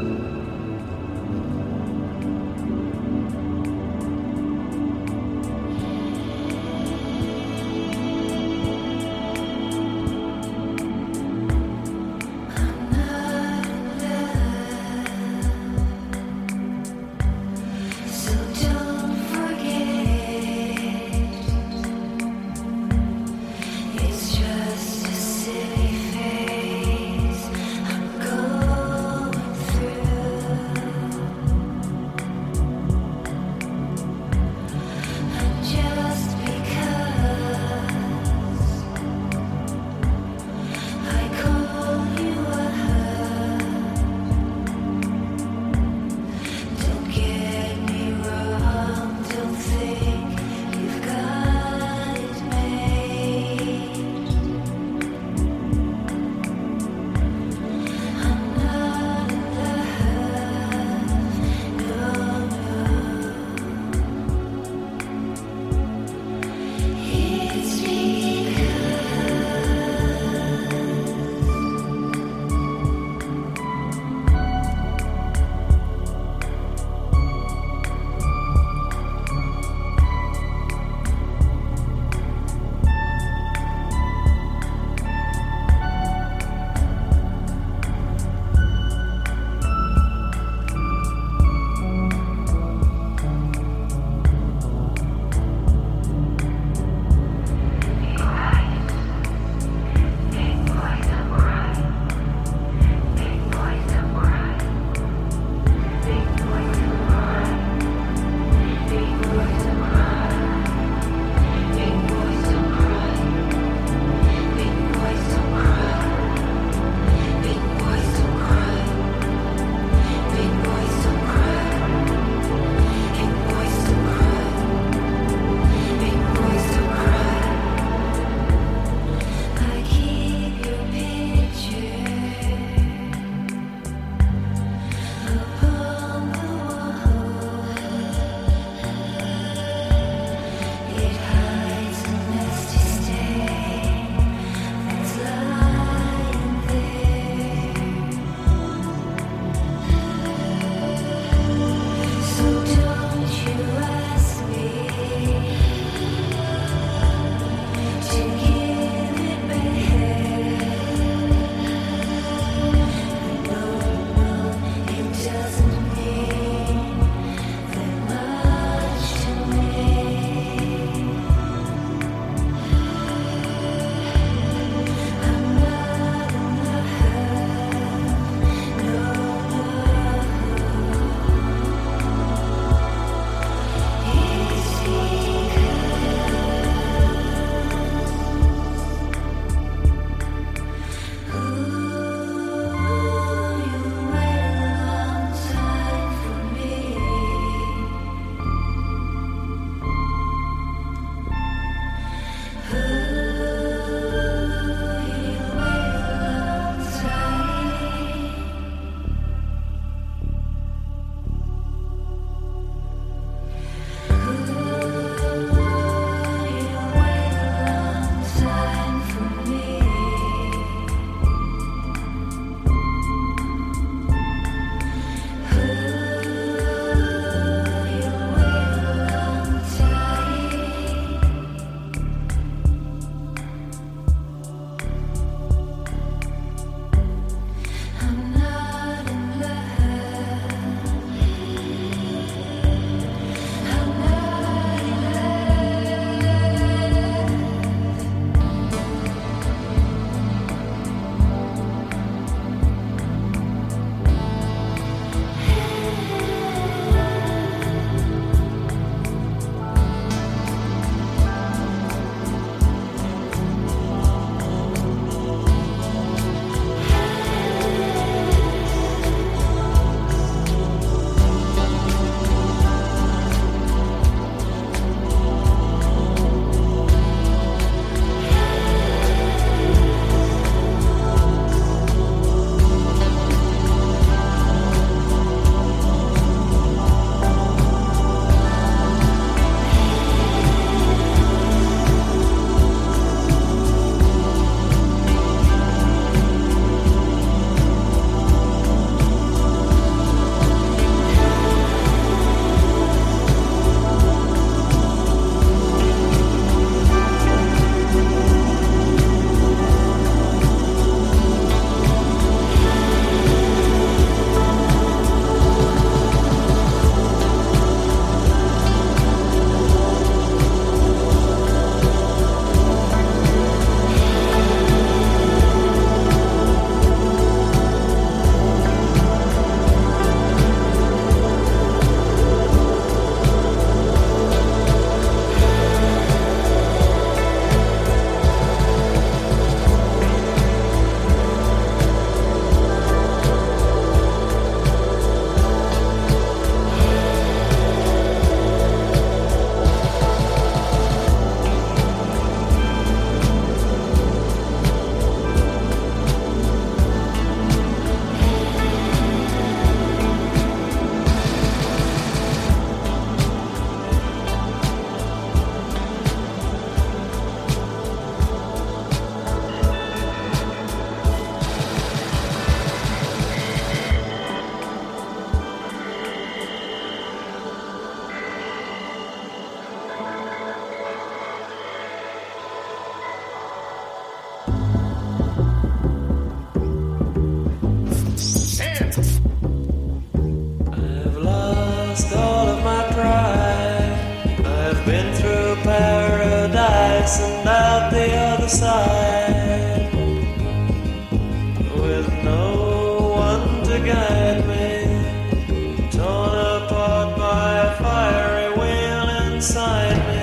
fastened out the other side, with no one to guide me, torn apart by a fiery wheel inside me.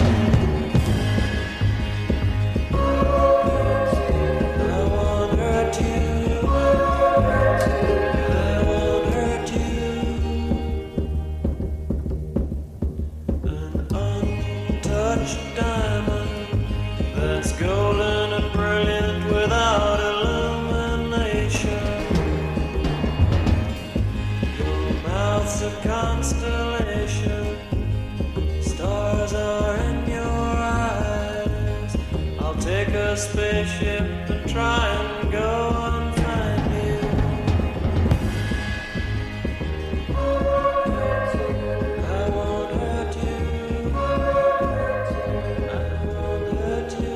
Golden and brilliant without illumination. Your mouth's a constellation. Stars are in your eyes. I'll take a spaceship and try and go and find you. I won't hurt you. I won't hurt you.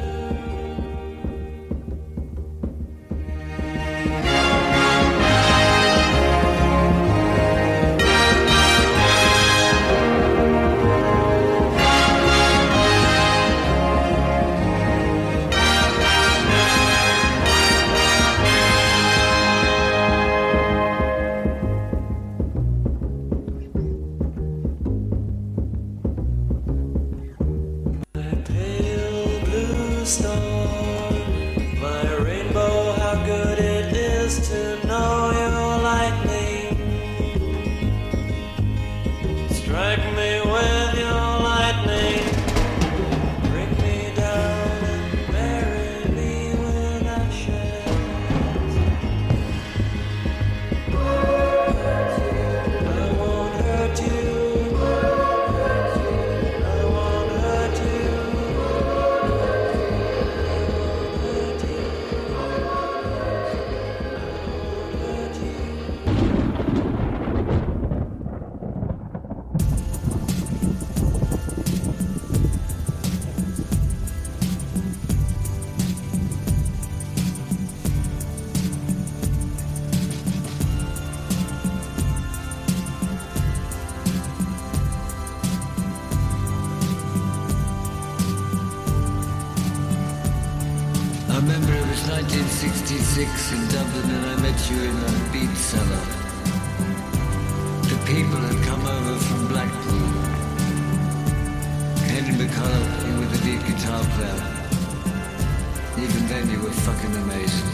I remember it was 1966 in Dublin and I met you in a beat cellar. The people had come over from Blackpool. Henry McCullough, you were the lead guitar player. Even then you were fucking amazing.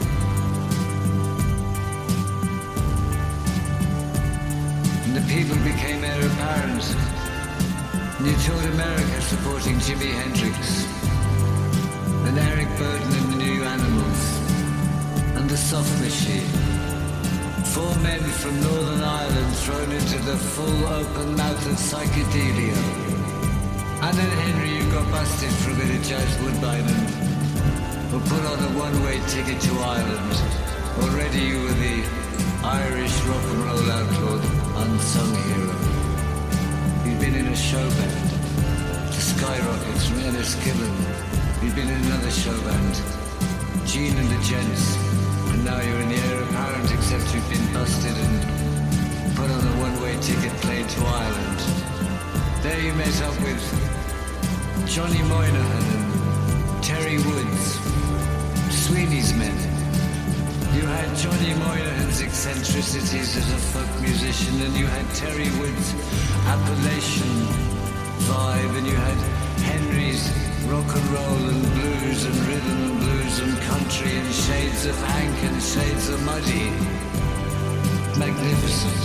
And the people became heir apparent. And you toured America supporting Jimi Hendrix. And Eric Burden and the New Animals, and the Soft Machine. 4 men from Northern Ireland thrown into the full open mouth of psychedelia. And then Henry, you got busted for a bit of jazz woodbine and were put on a one-way ticket to Ireland. Already you were the Irish rock and roll outlaw, unsung hero. You'd been in a show band, the Skyrockets from Enniskillen. You've been in another show band, Gene and the Gents, and now you're in the heir apparent, except you've been busted and put on a one-way ticket plane to Ireland. There you met up with Johnny Moynihan and Terry Woods, Sweeney's men. You had Johnny Moynihan's eccentricities as a folk musician, and you had Terry Woods' Appalachian vibe, and you had Henry's rock and roll and blues and rhythm and blues and country and shades of Hank and shades of Muddy. Magnificent.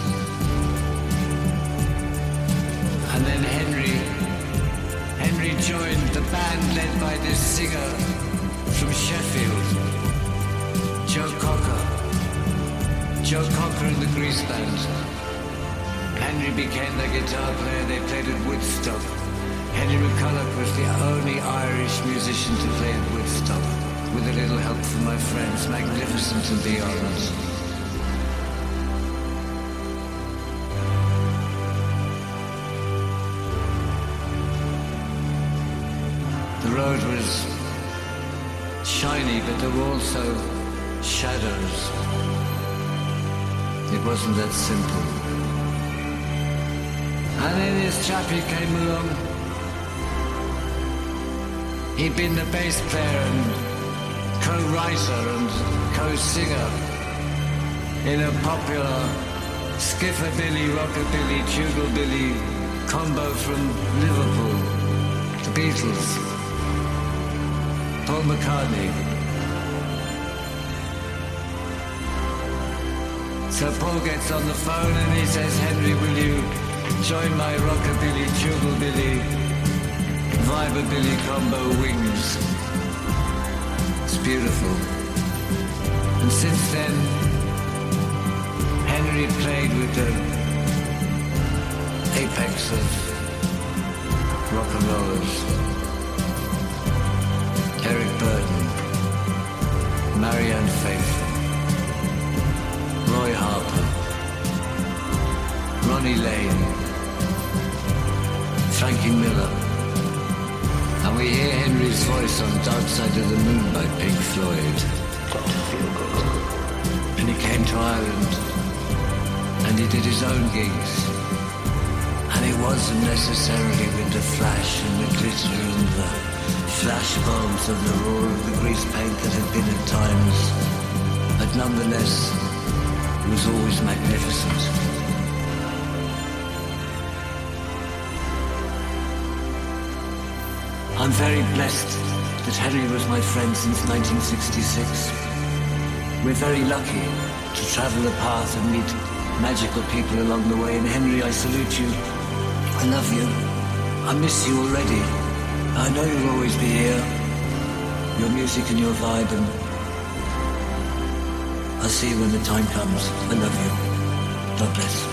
And then Henry joined the band led by this singer from Sheffield, Joe Cocker. Joe Cocker and the Grease Band. Henry became their guitar player. They played at Woodstock. Henry McCullough was the only Irish musician to play at Woodstock, with a little help from my friends, Magnificent and beyond. The road was shiny, but there were also shadows. It wasn't that simple. And then this chappie came along, He'd been the bass player and co-writer and co-singer in a popular skiffabilly, rockabilly, tugalbilly combo from Liverpool, the Beatles, Paul McCartney. So Paul gets on the phone and he says, Henry, will you join my rockabilly, tugalbilly, vibrabilly combo Wings? It's beautiful. And since then, Henry played with the apex of rock and rollers. Eric Burden, Marianne Faithfull, Roy Harper, Ronnie Lane, Frankie Miller. And we hear Henry's voice on Dark Side of the Moon by Pink Floyd. Got to feel good. And he came to Ireland and he did his own gigs. And it wasn't necessarily with the flash and the glitter and the flash bombs of the roar of the grease paint that had been at times. But nonetheless, it was always magnificent. I'm very blessed that Henry was my friend since 1966. We're very lucky to travel the path and meet magical people along the way. And Henry, I salute you. I love you. I miss you already. I know you'll always be here. Your music and your vibe, and I'll see you when the time comes. I love you. God bless.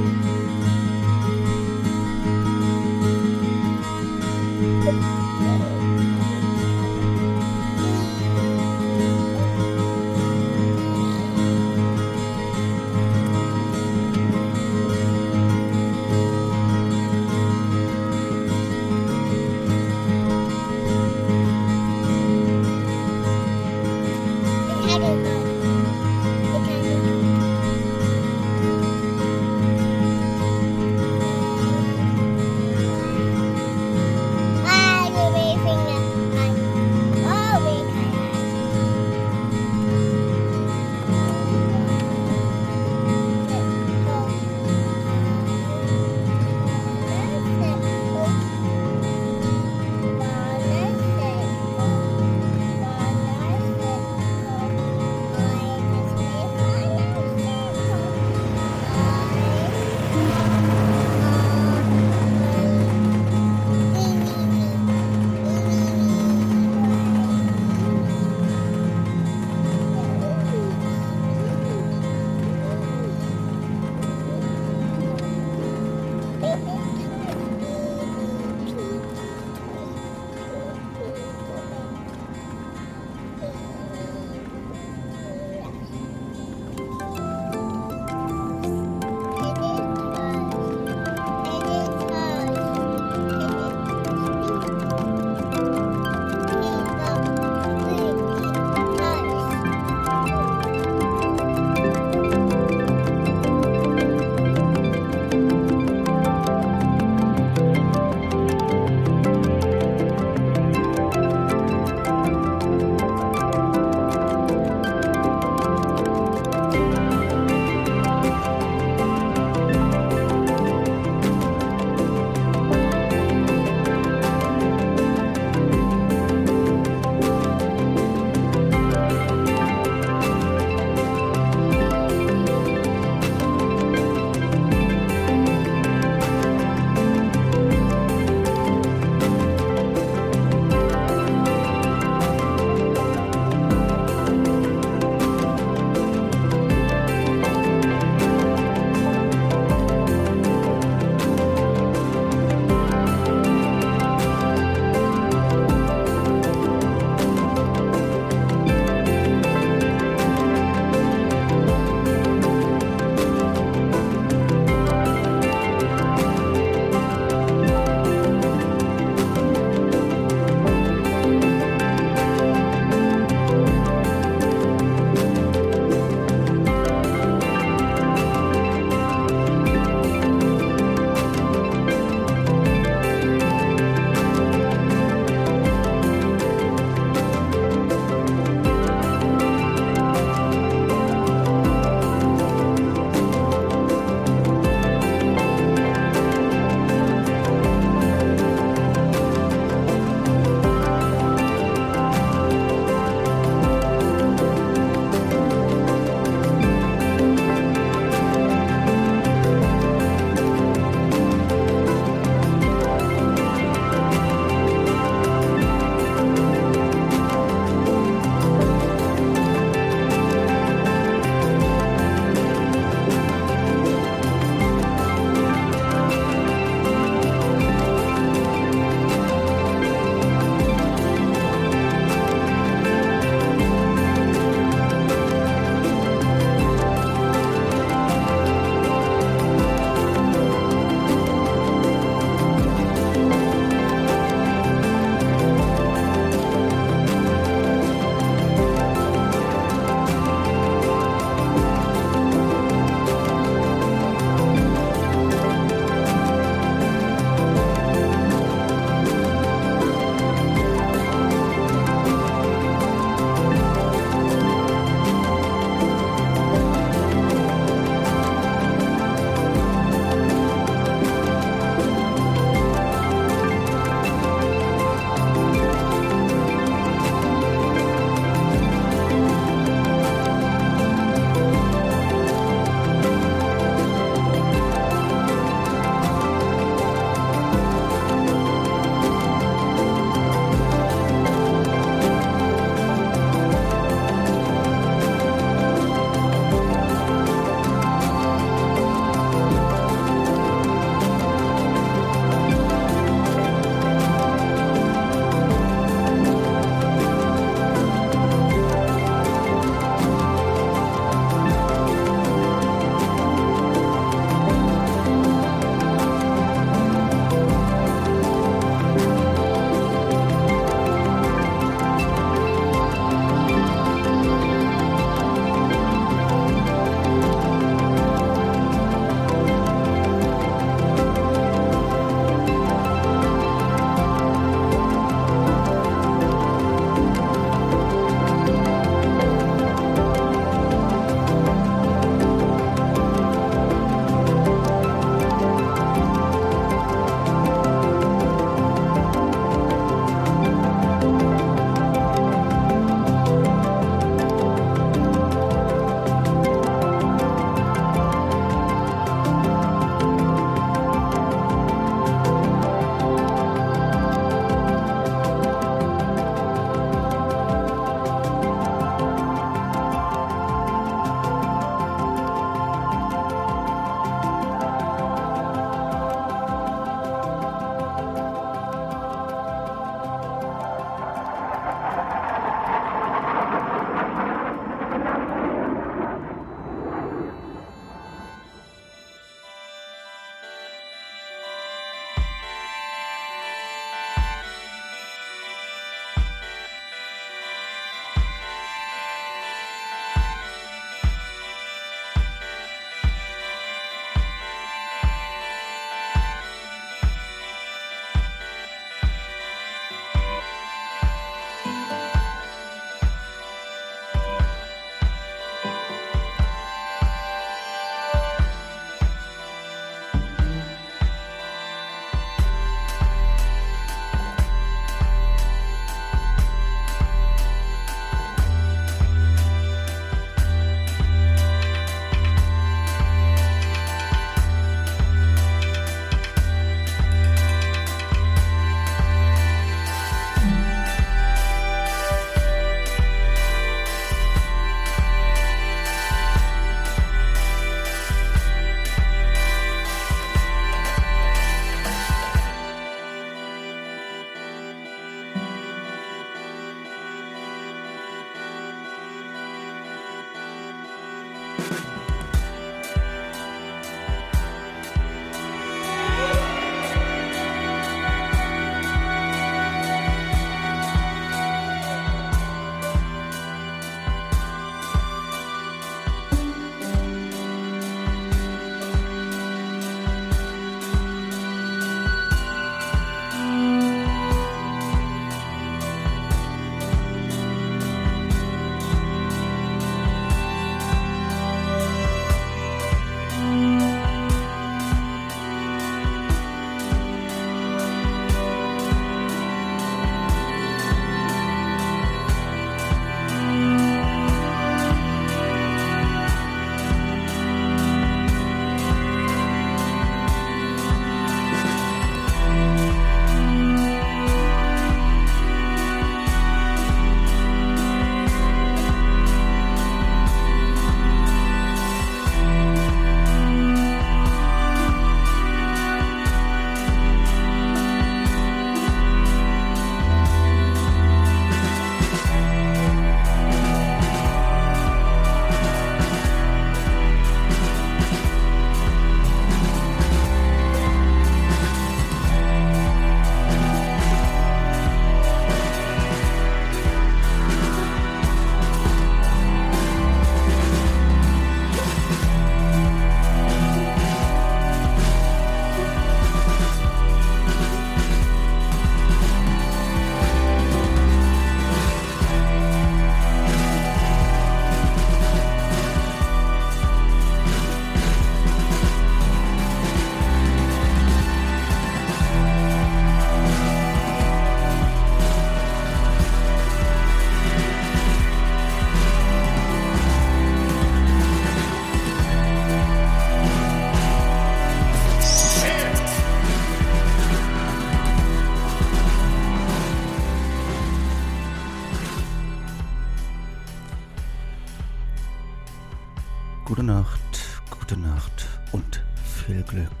Gute Nacht und viel Glück.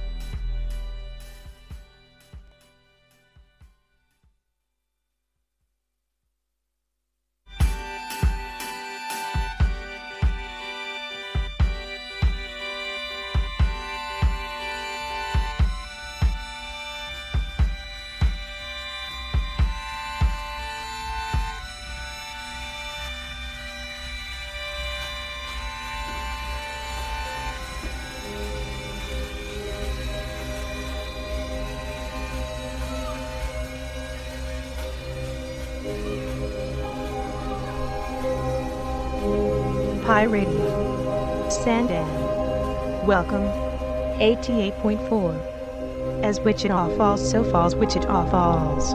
Pi Radio. Sandan. Welcome. 88.4. As Wichita Falls, so falls Wichita Falls.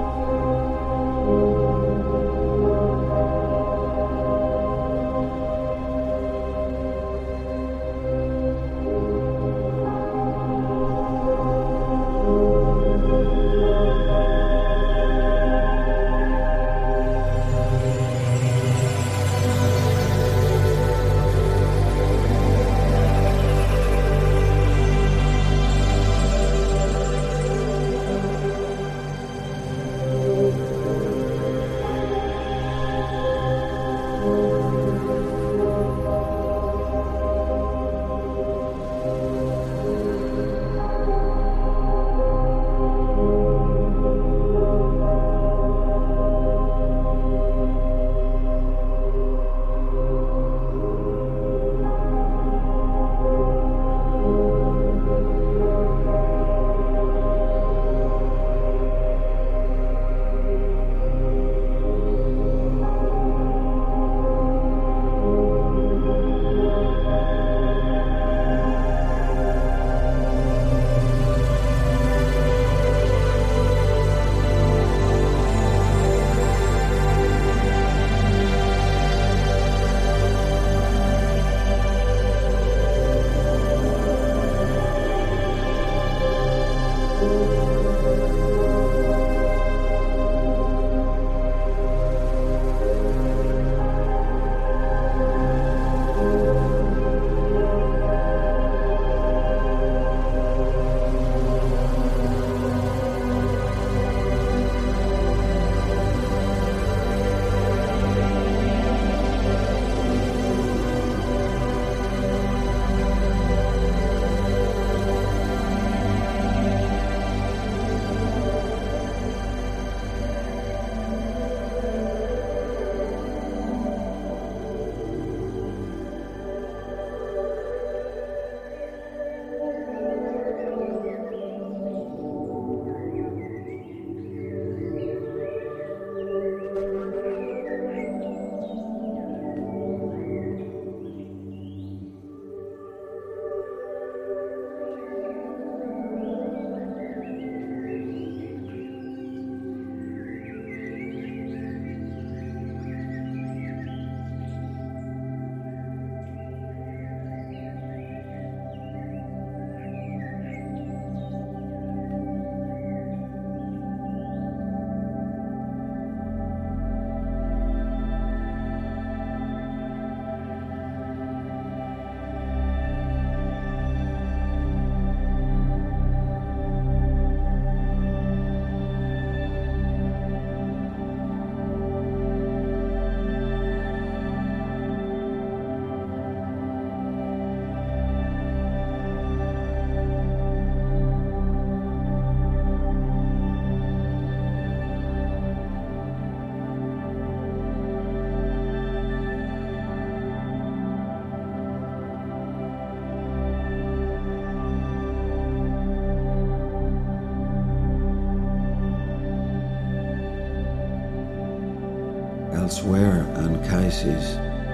Elsewhere, Anchises,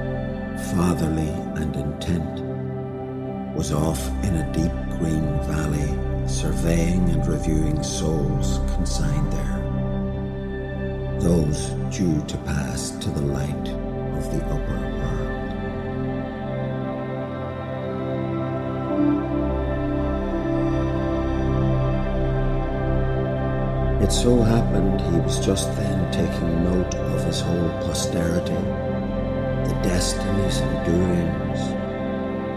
fatherly and intent, was off in a deep green valley, surveying and reviewing souls consigned there, those due to pass to the light of the upper world. It so happened he was just then taking note of his whole posterity, the destinies and doings,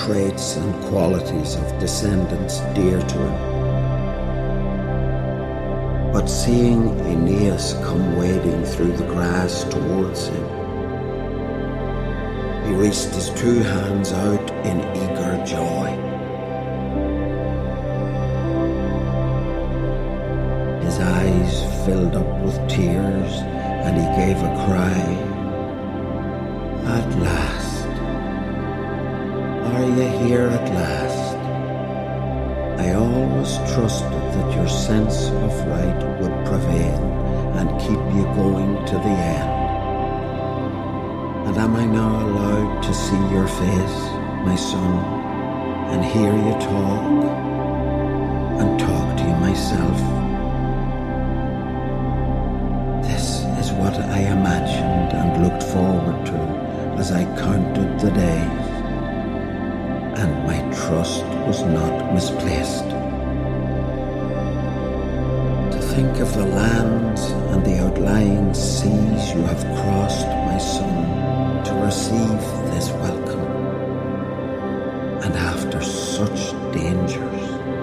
traits and qualities of descendants dear to him. But seeing Aeneas come wading through the grass towards him, he reached his two hands out in eager joy. His eyes filled up with tears, and he gave a cry. At last! Are you here at last? I always trusted that your sense of right would prevail and keep you going to the end. And am I now allowed to see your face, my son, and hear you talk, and talk to you myself? This is what I imagined and looked forward to as I counted the days, and my trust was not misplaced. To think of the lands and the outlying seas you have crossed, my son, to receive this welcome, and after such dangers.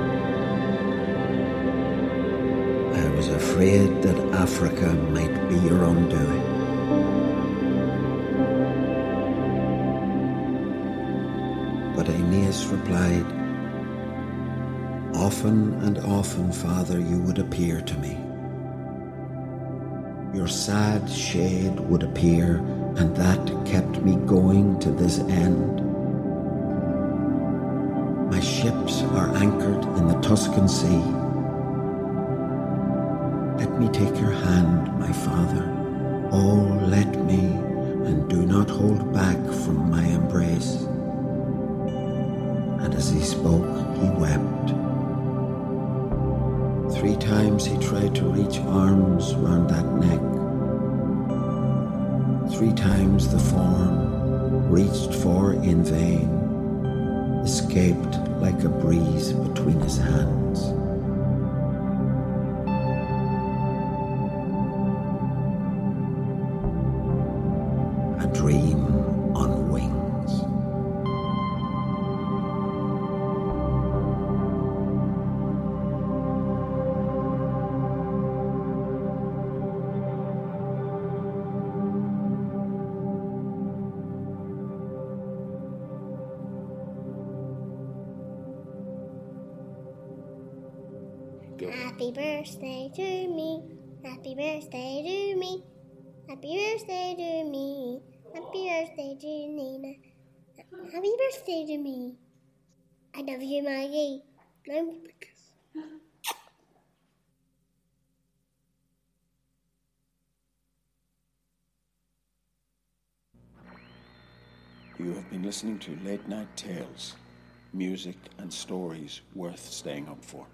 I was afraid that Africa might be your undoing. But Aeneas replied, often and often, Father, you would appear to me. Your sad shade would appear, and that kept me going to this end. My ships are anchored in the Tuscan Sea. Let me take your hand, my father. Oh, let me, and do not hold back from my embrace. And as he spoke, he wept. 3 times he tried to reach arms round that neck. 3 times the form, reached for in vain, escaped like a breeze between his hands. A dream on wings. Happy birthday to me. Happy birthday to me. Happy birthday to me. Happy birthday to Nina. Happy birthday to me. I love you, Maggie. You have been listening to Late Night Tales, music and stories worth staying up for.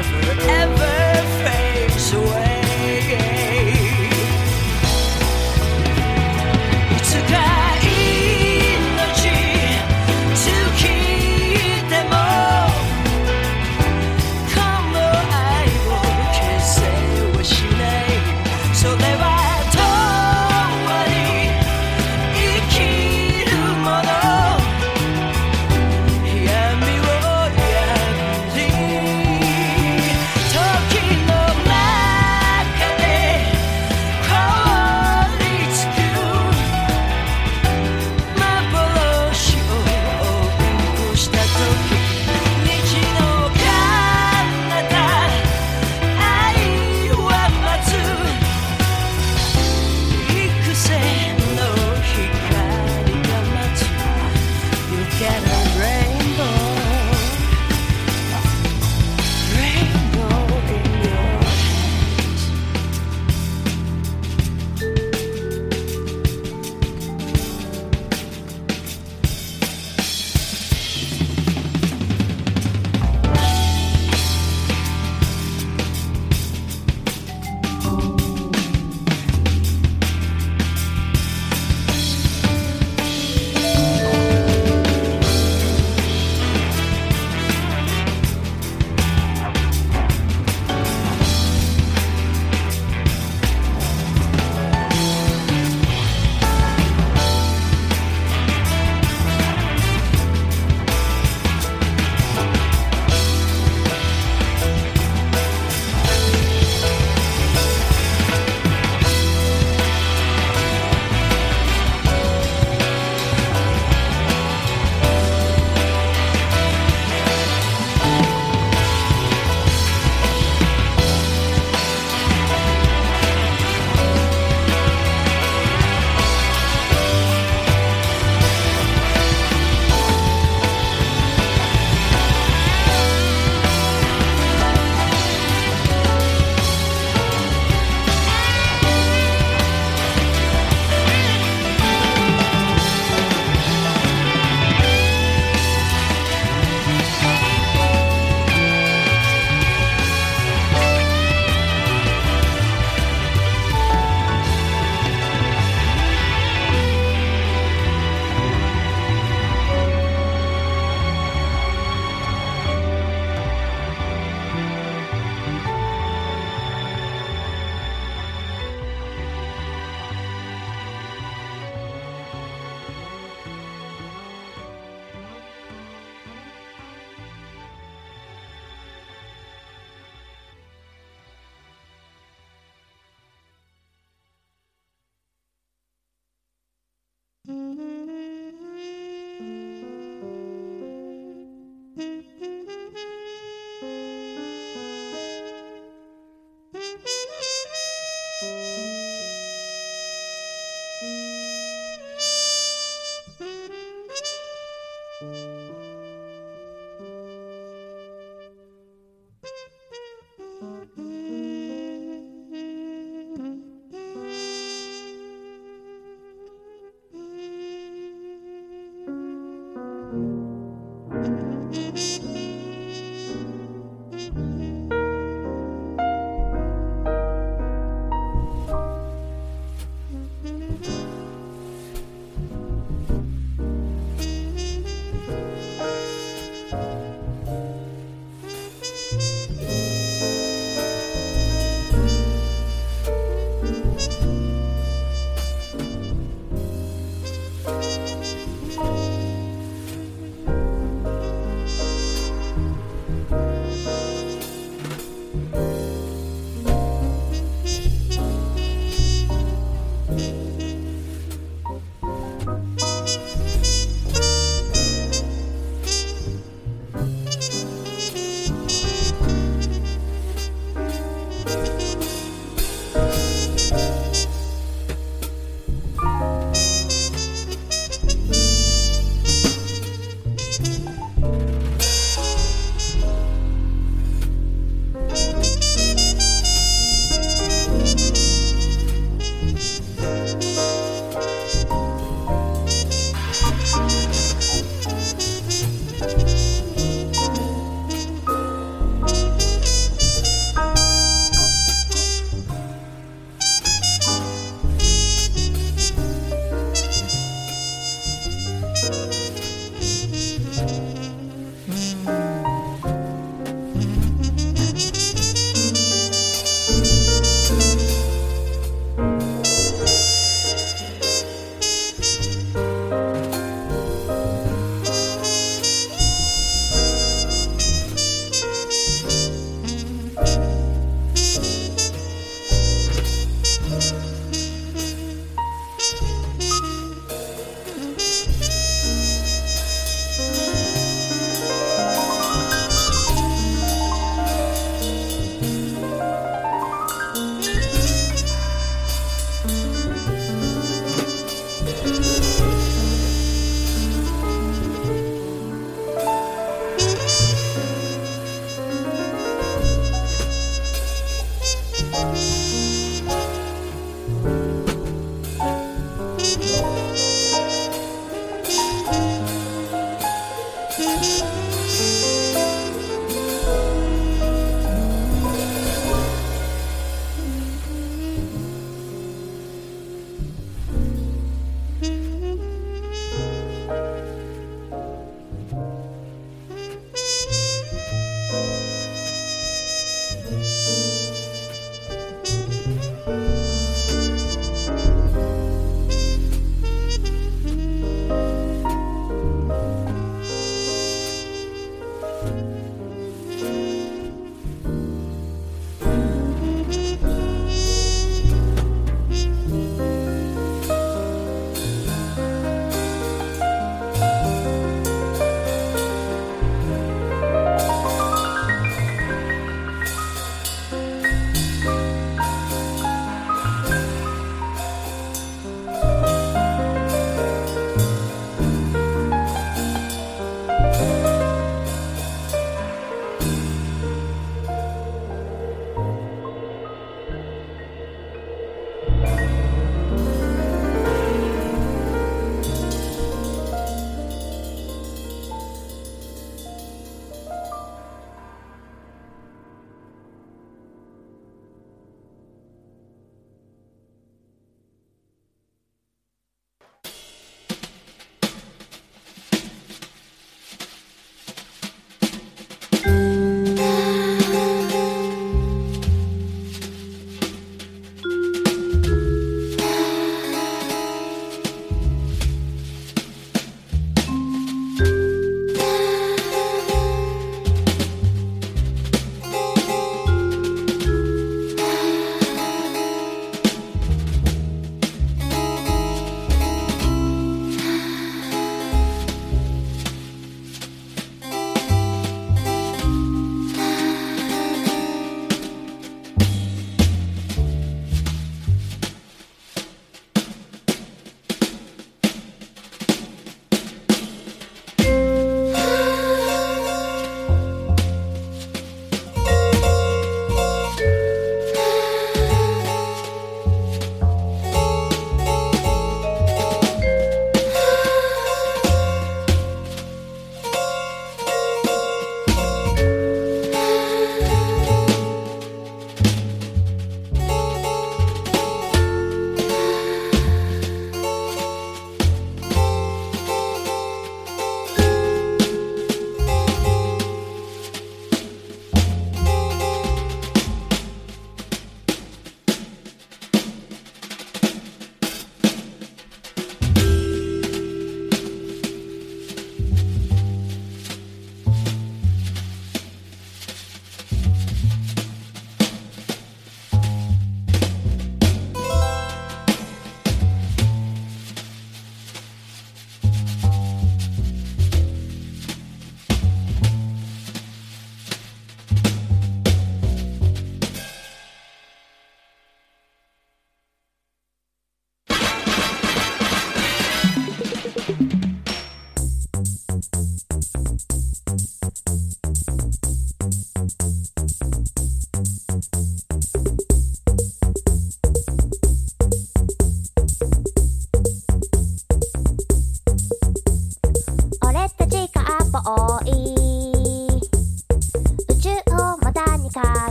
never ever fades away.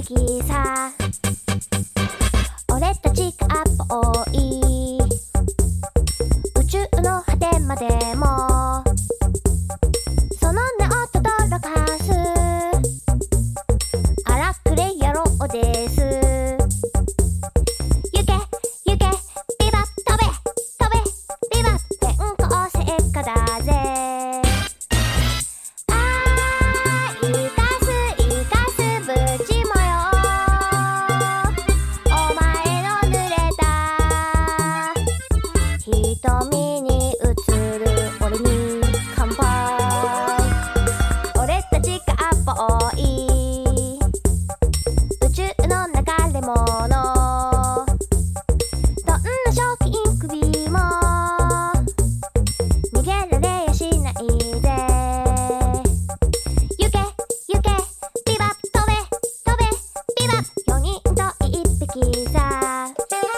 匹さ俺たちが遠い宇宙の果てまでもその名を轟かす荒くれ野郎です行け行けビバ飛べ飛べビバ転校生家だぜ瞳に映る俺に乾杯俺たちが遠い宇宙の流れ物どんな賞金首も逃げられやしないぜ行け行けビバ飛べ飛べビバ4人と1匹さ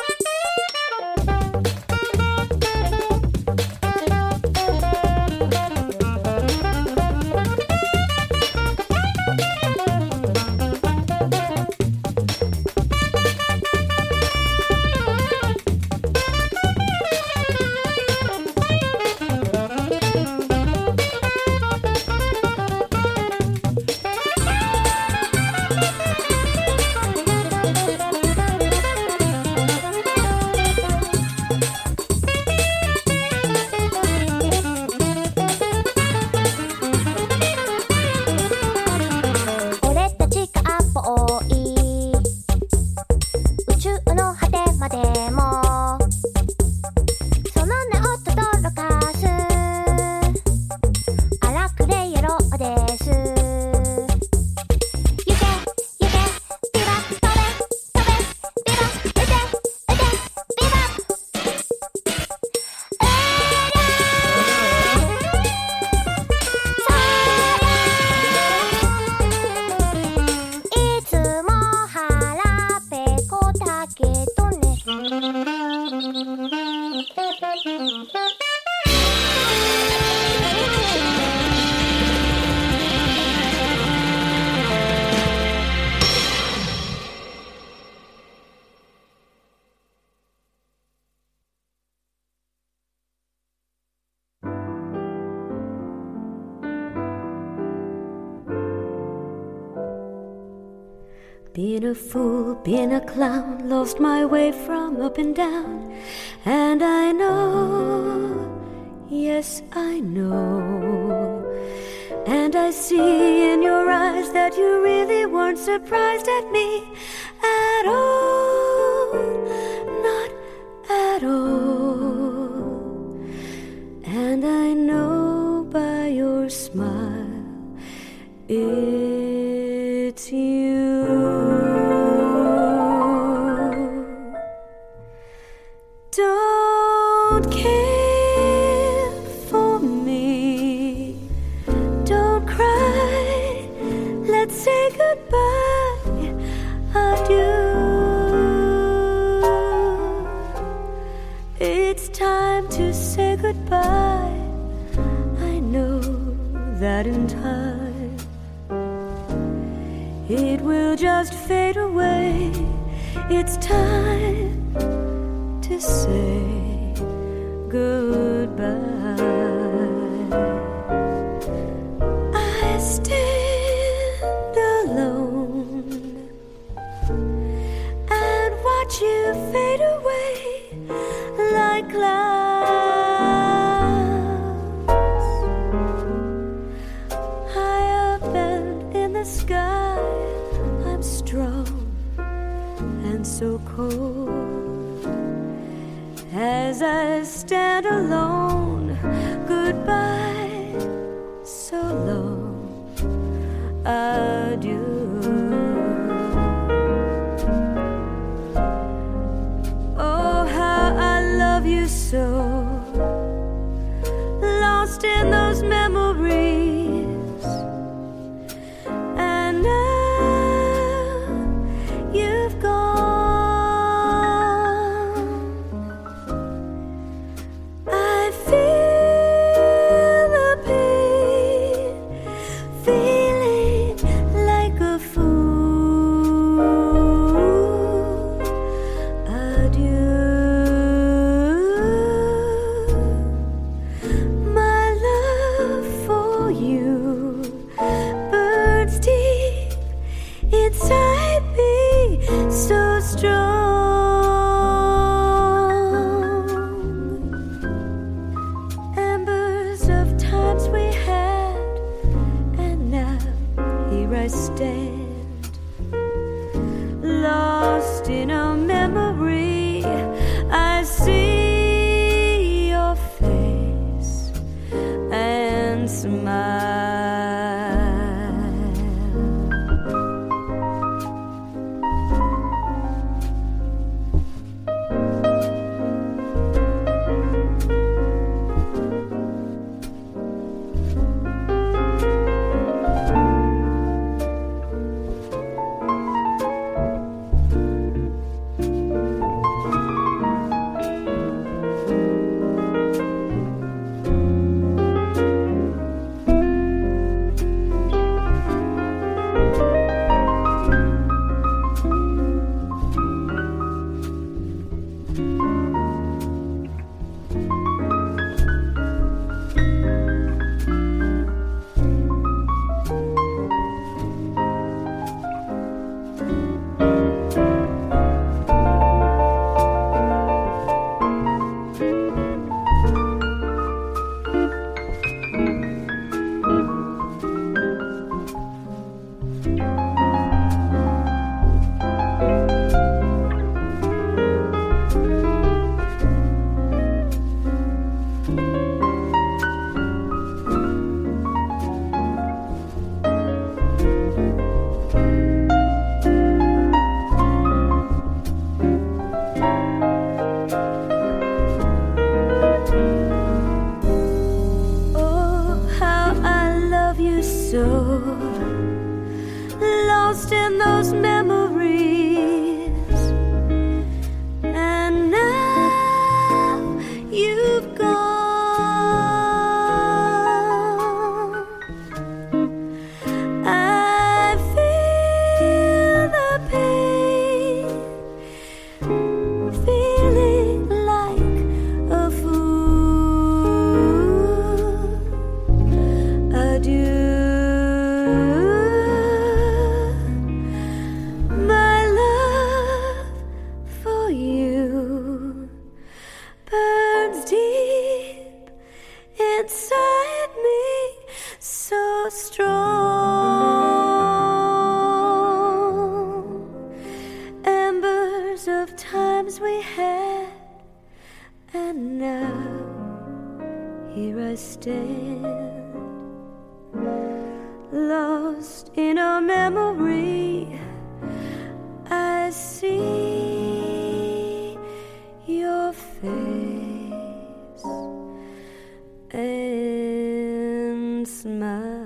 Being a fool, being a clown, lost my way from up and down. And I know, yes I know. And I see in your eyes that you really weren't surprised at me at all, not at all. And I know by your smile it's you. Don't care for me, don't cry, let's say goodbye, adieu. It's time to say goodbye, I know that in time it will just fade away. It's time to say goodbye. I stand alone and watch you fade away like clouds high up and in the sky. I'm strong and so cold as I stand alone. Goodbye, so long, adieu. Oh, how I love you so, lost in those memories. And now you've gone. I feel inside me so strong. Embers of times we had, and now here I stand, lost in a memory. I see your face and smile. Lost in those memories, and now you've gone. I feel the pain, feeling like a fool. Adieu. Inside me, so strong. Embers of times we had, and now here I stand, lost in a memory. I see your face and smile.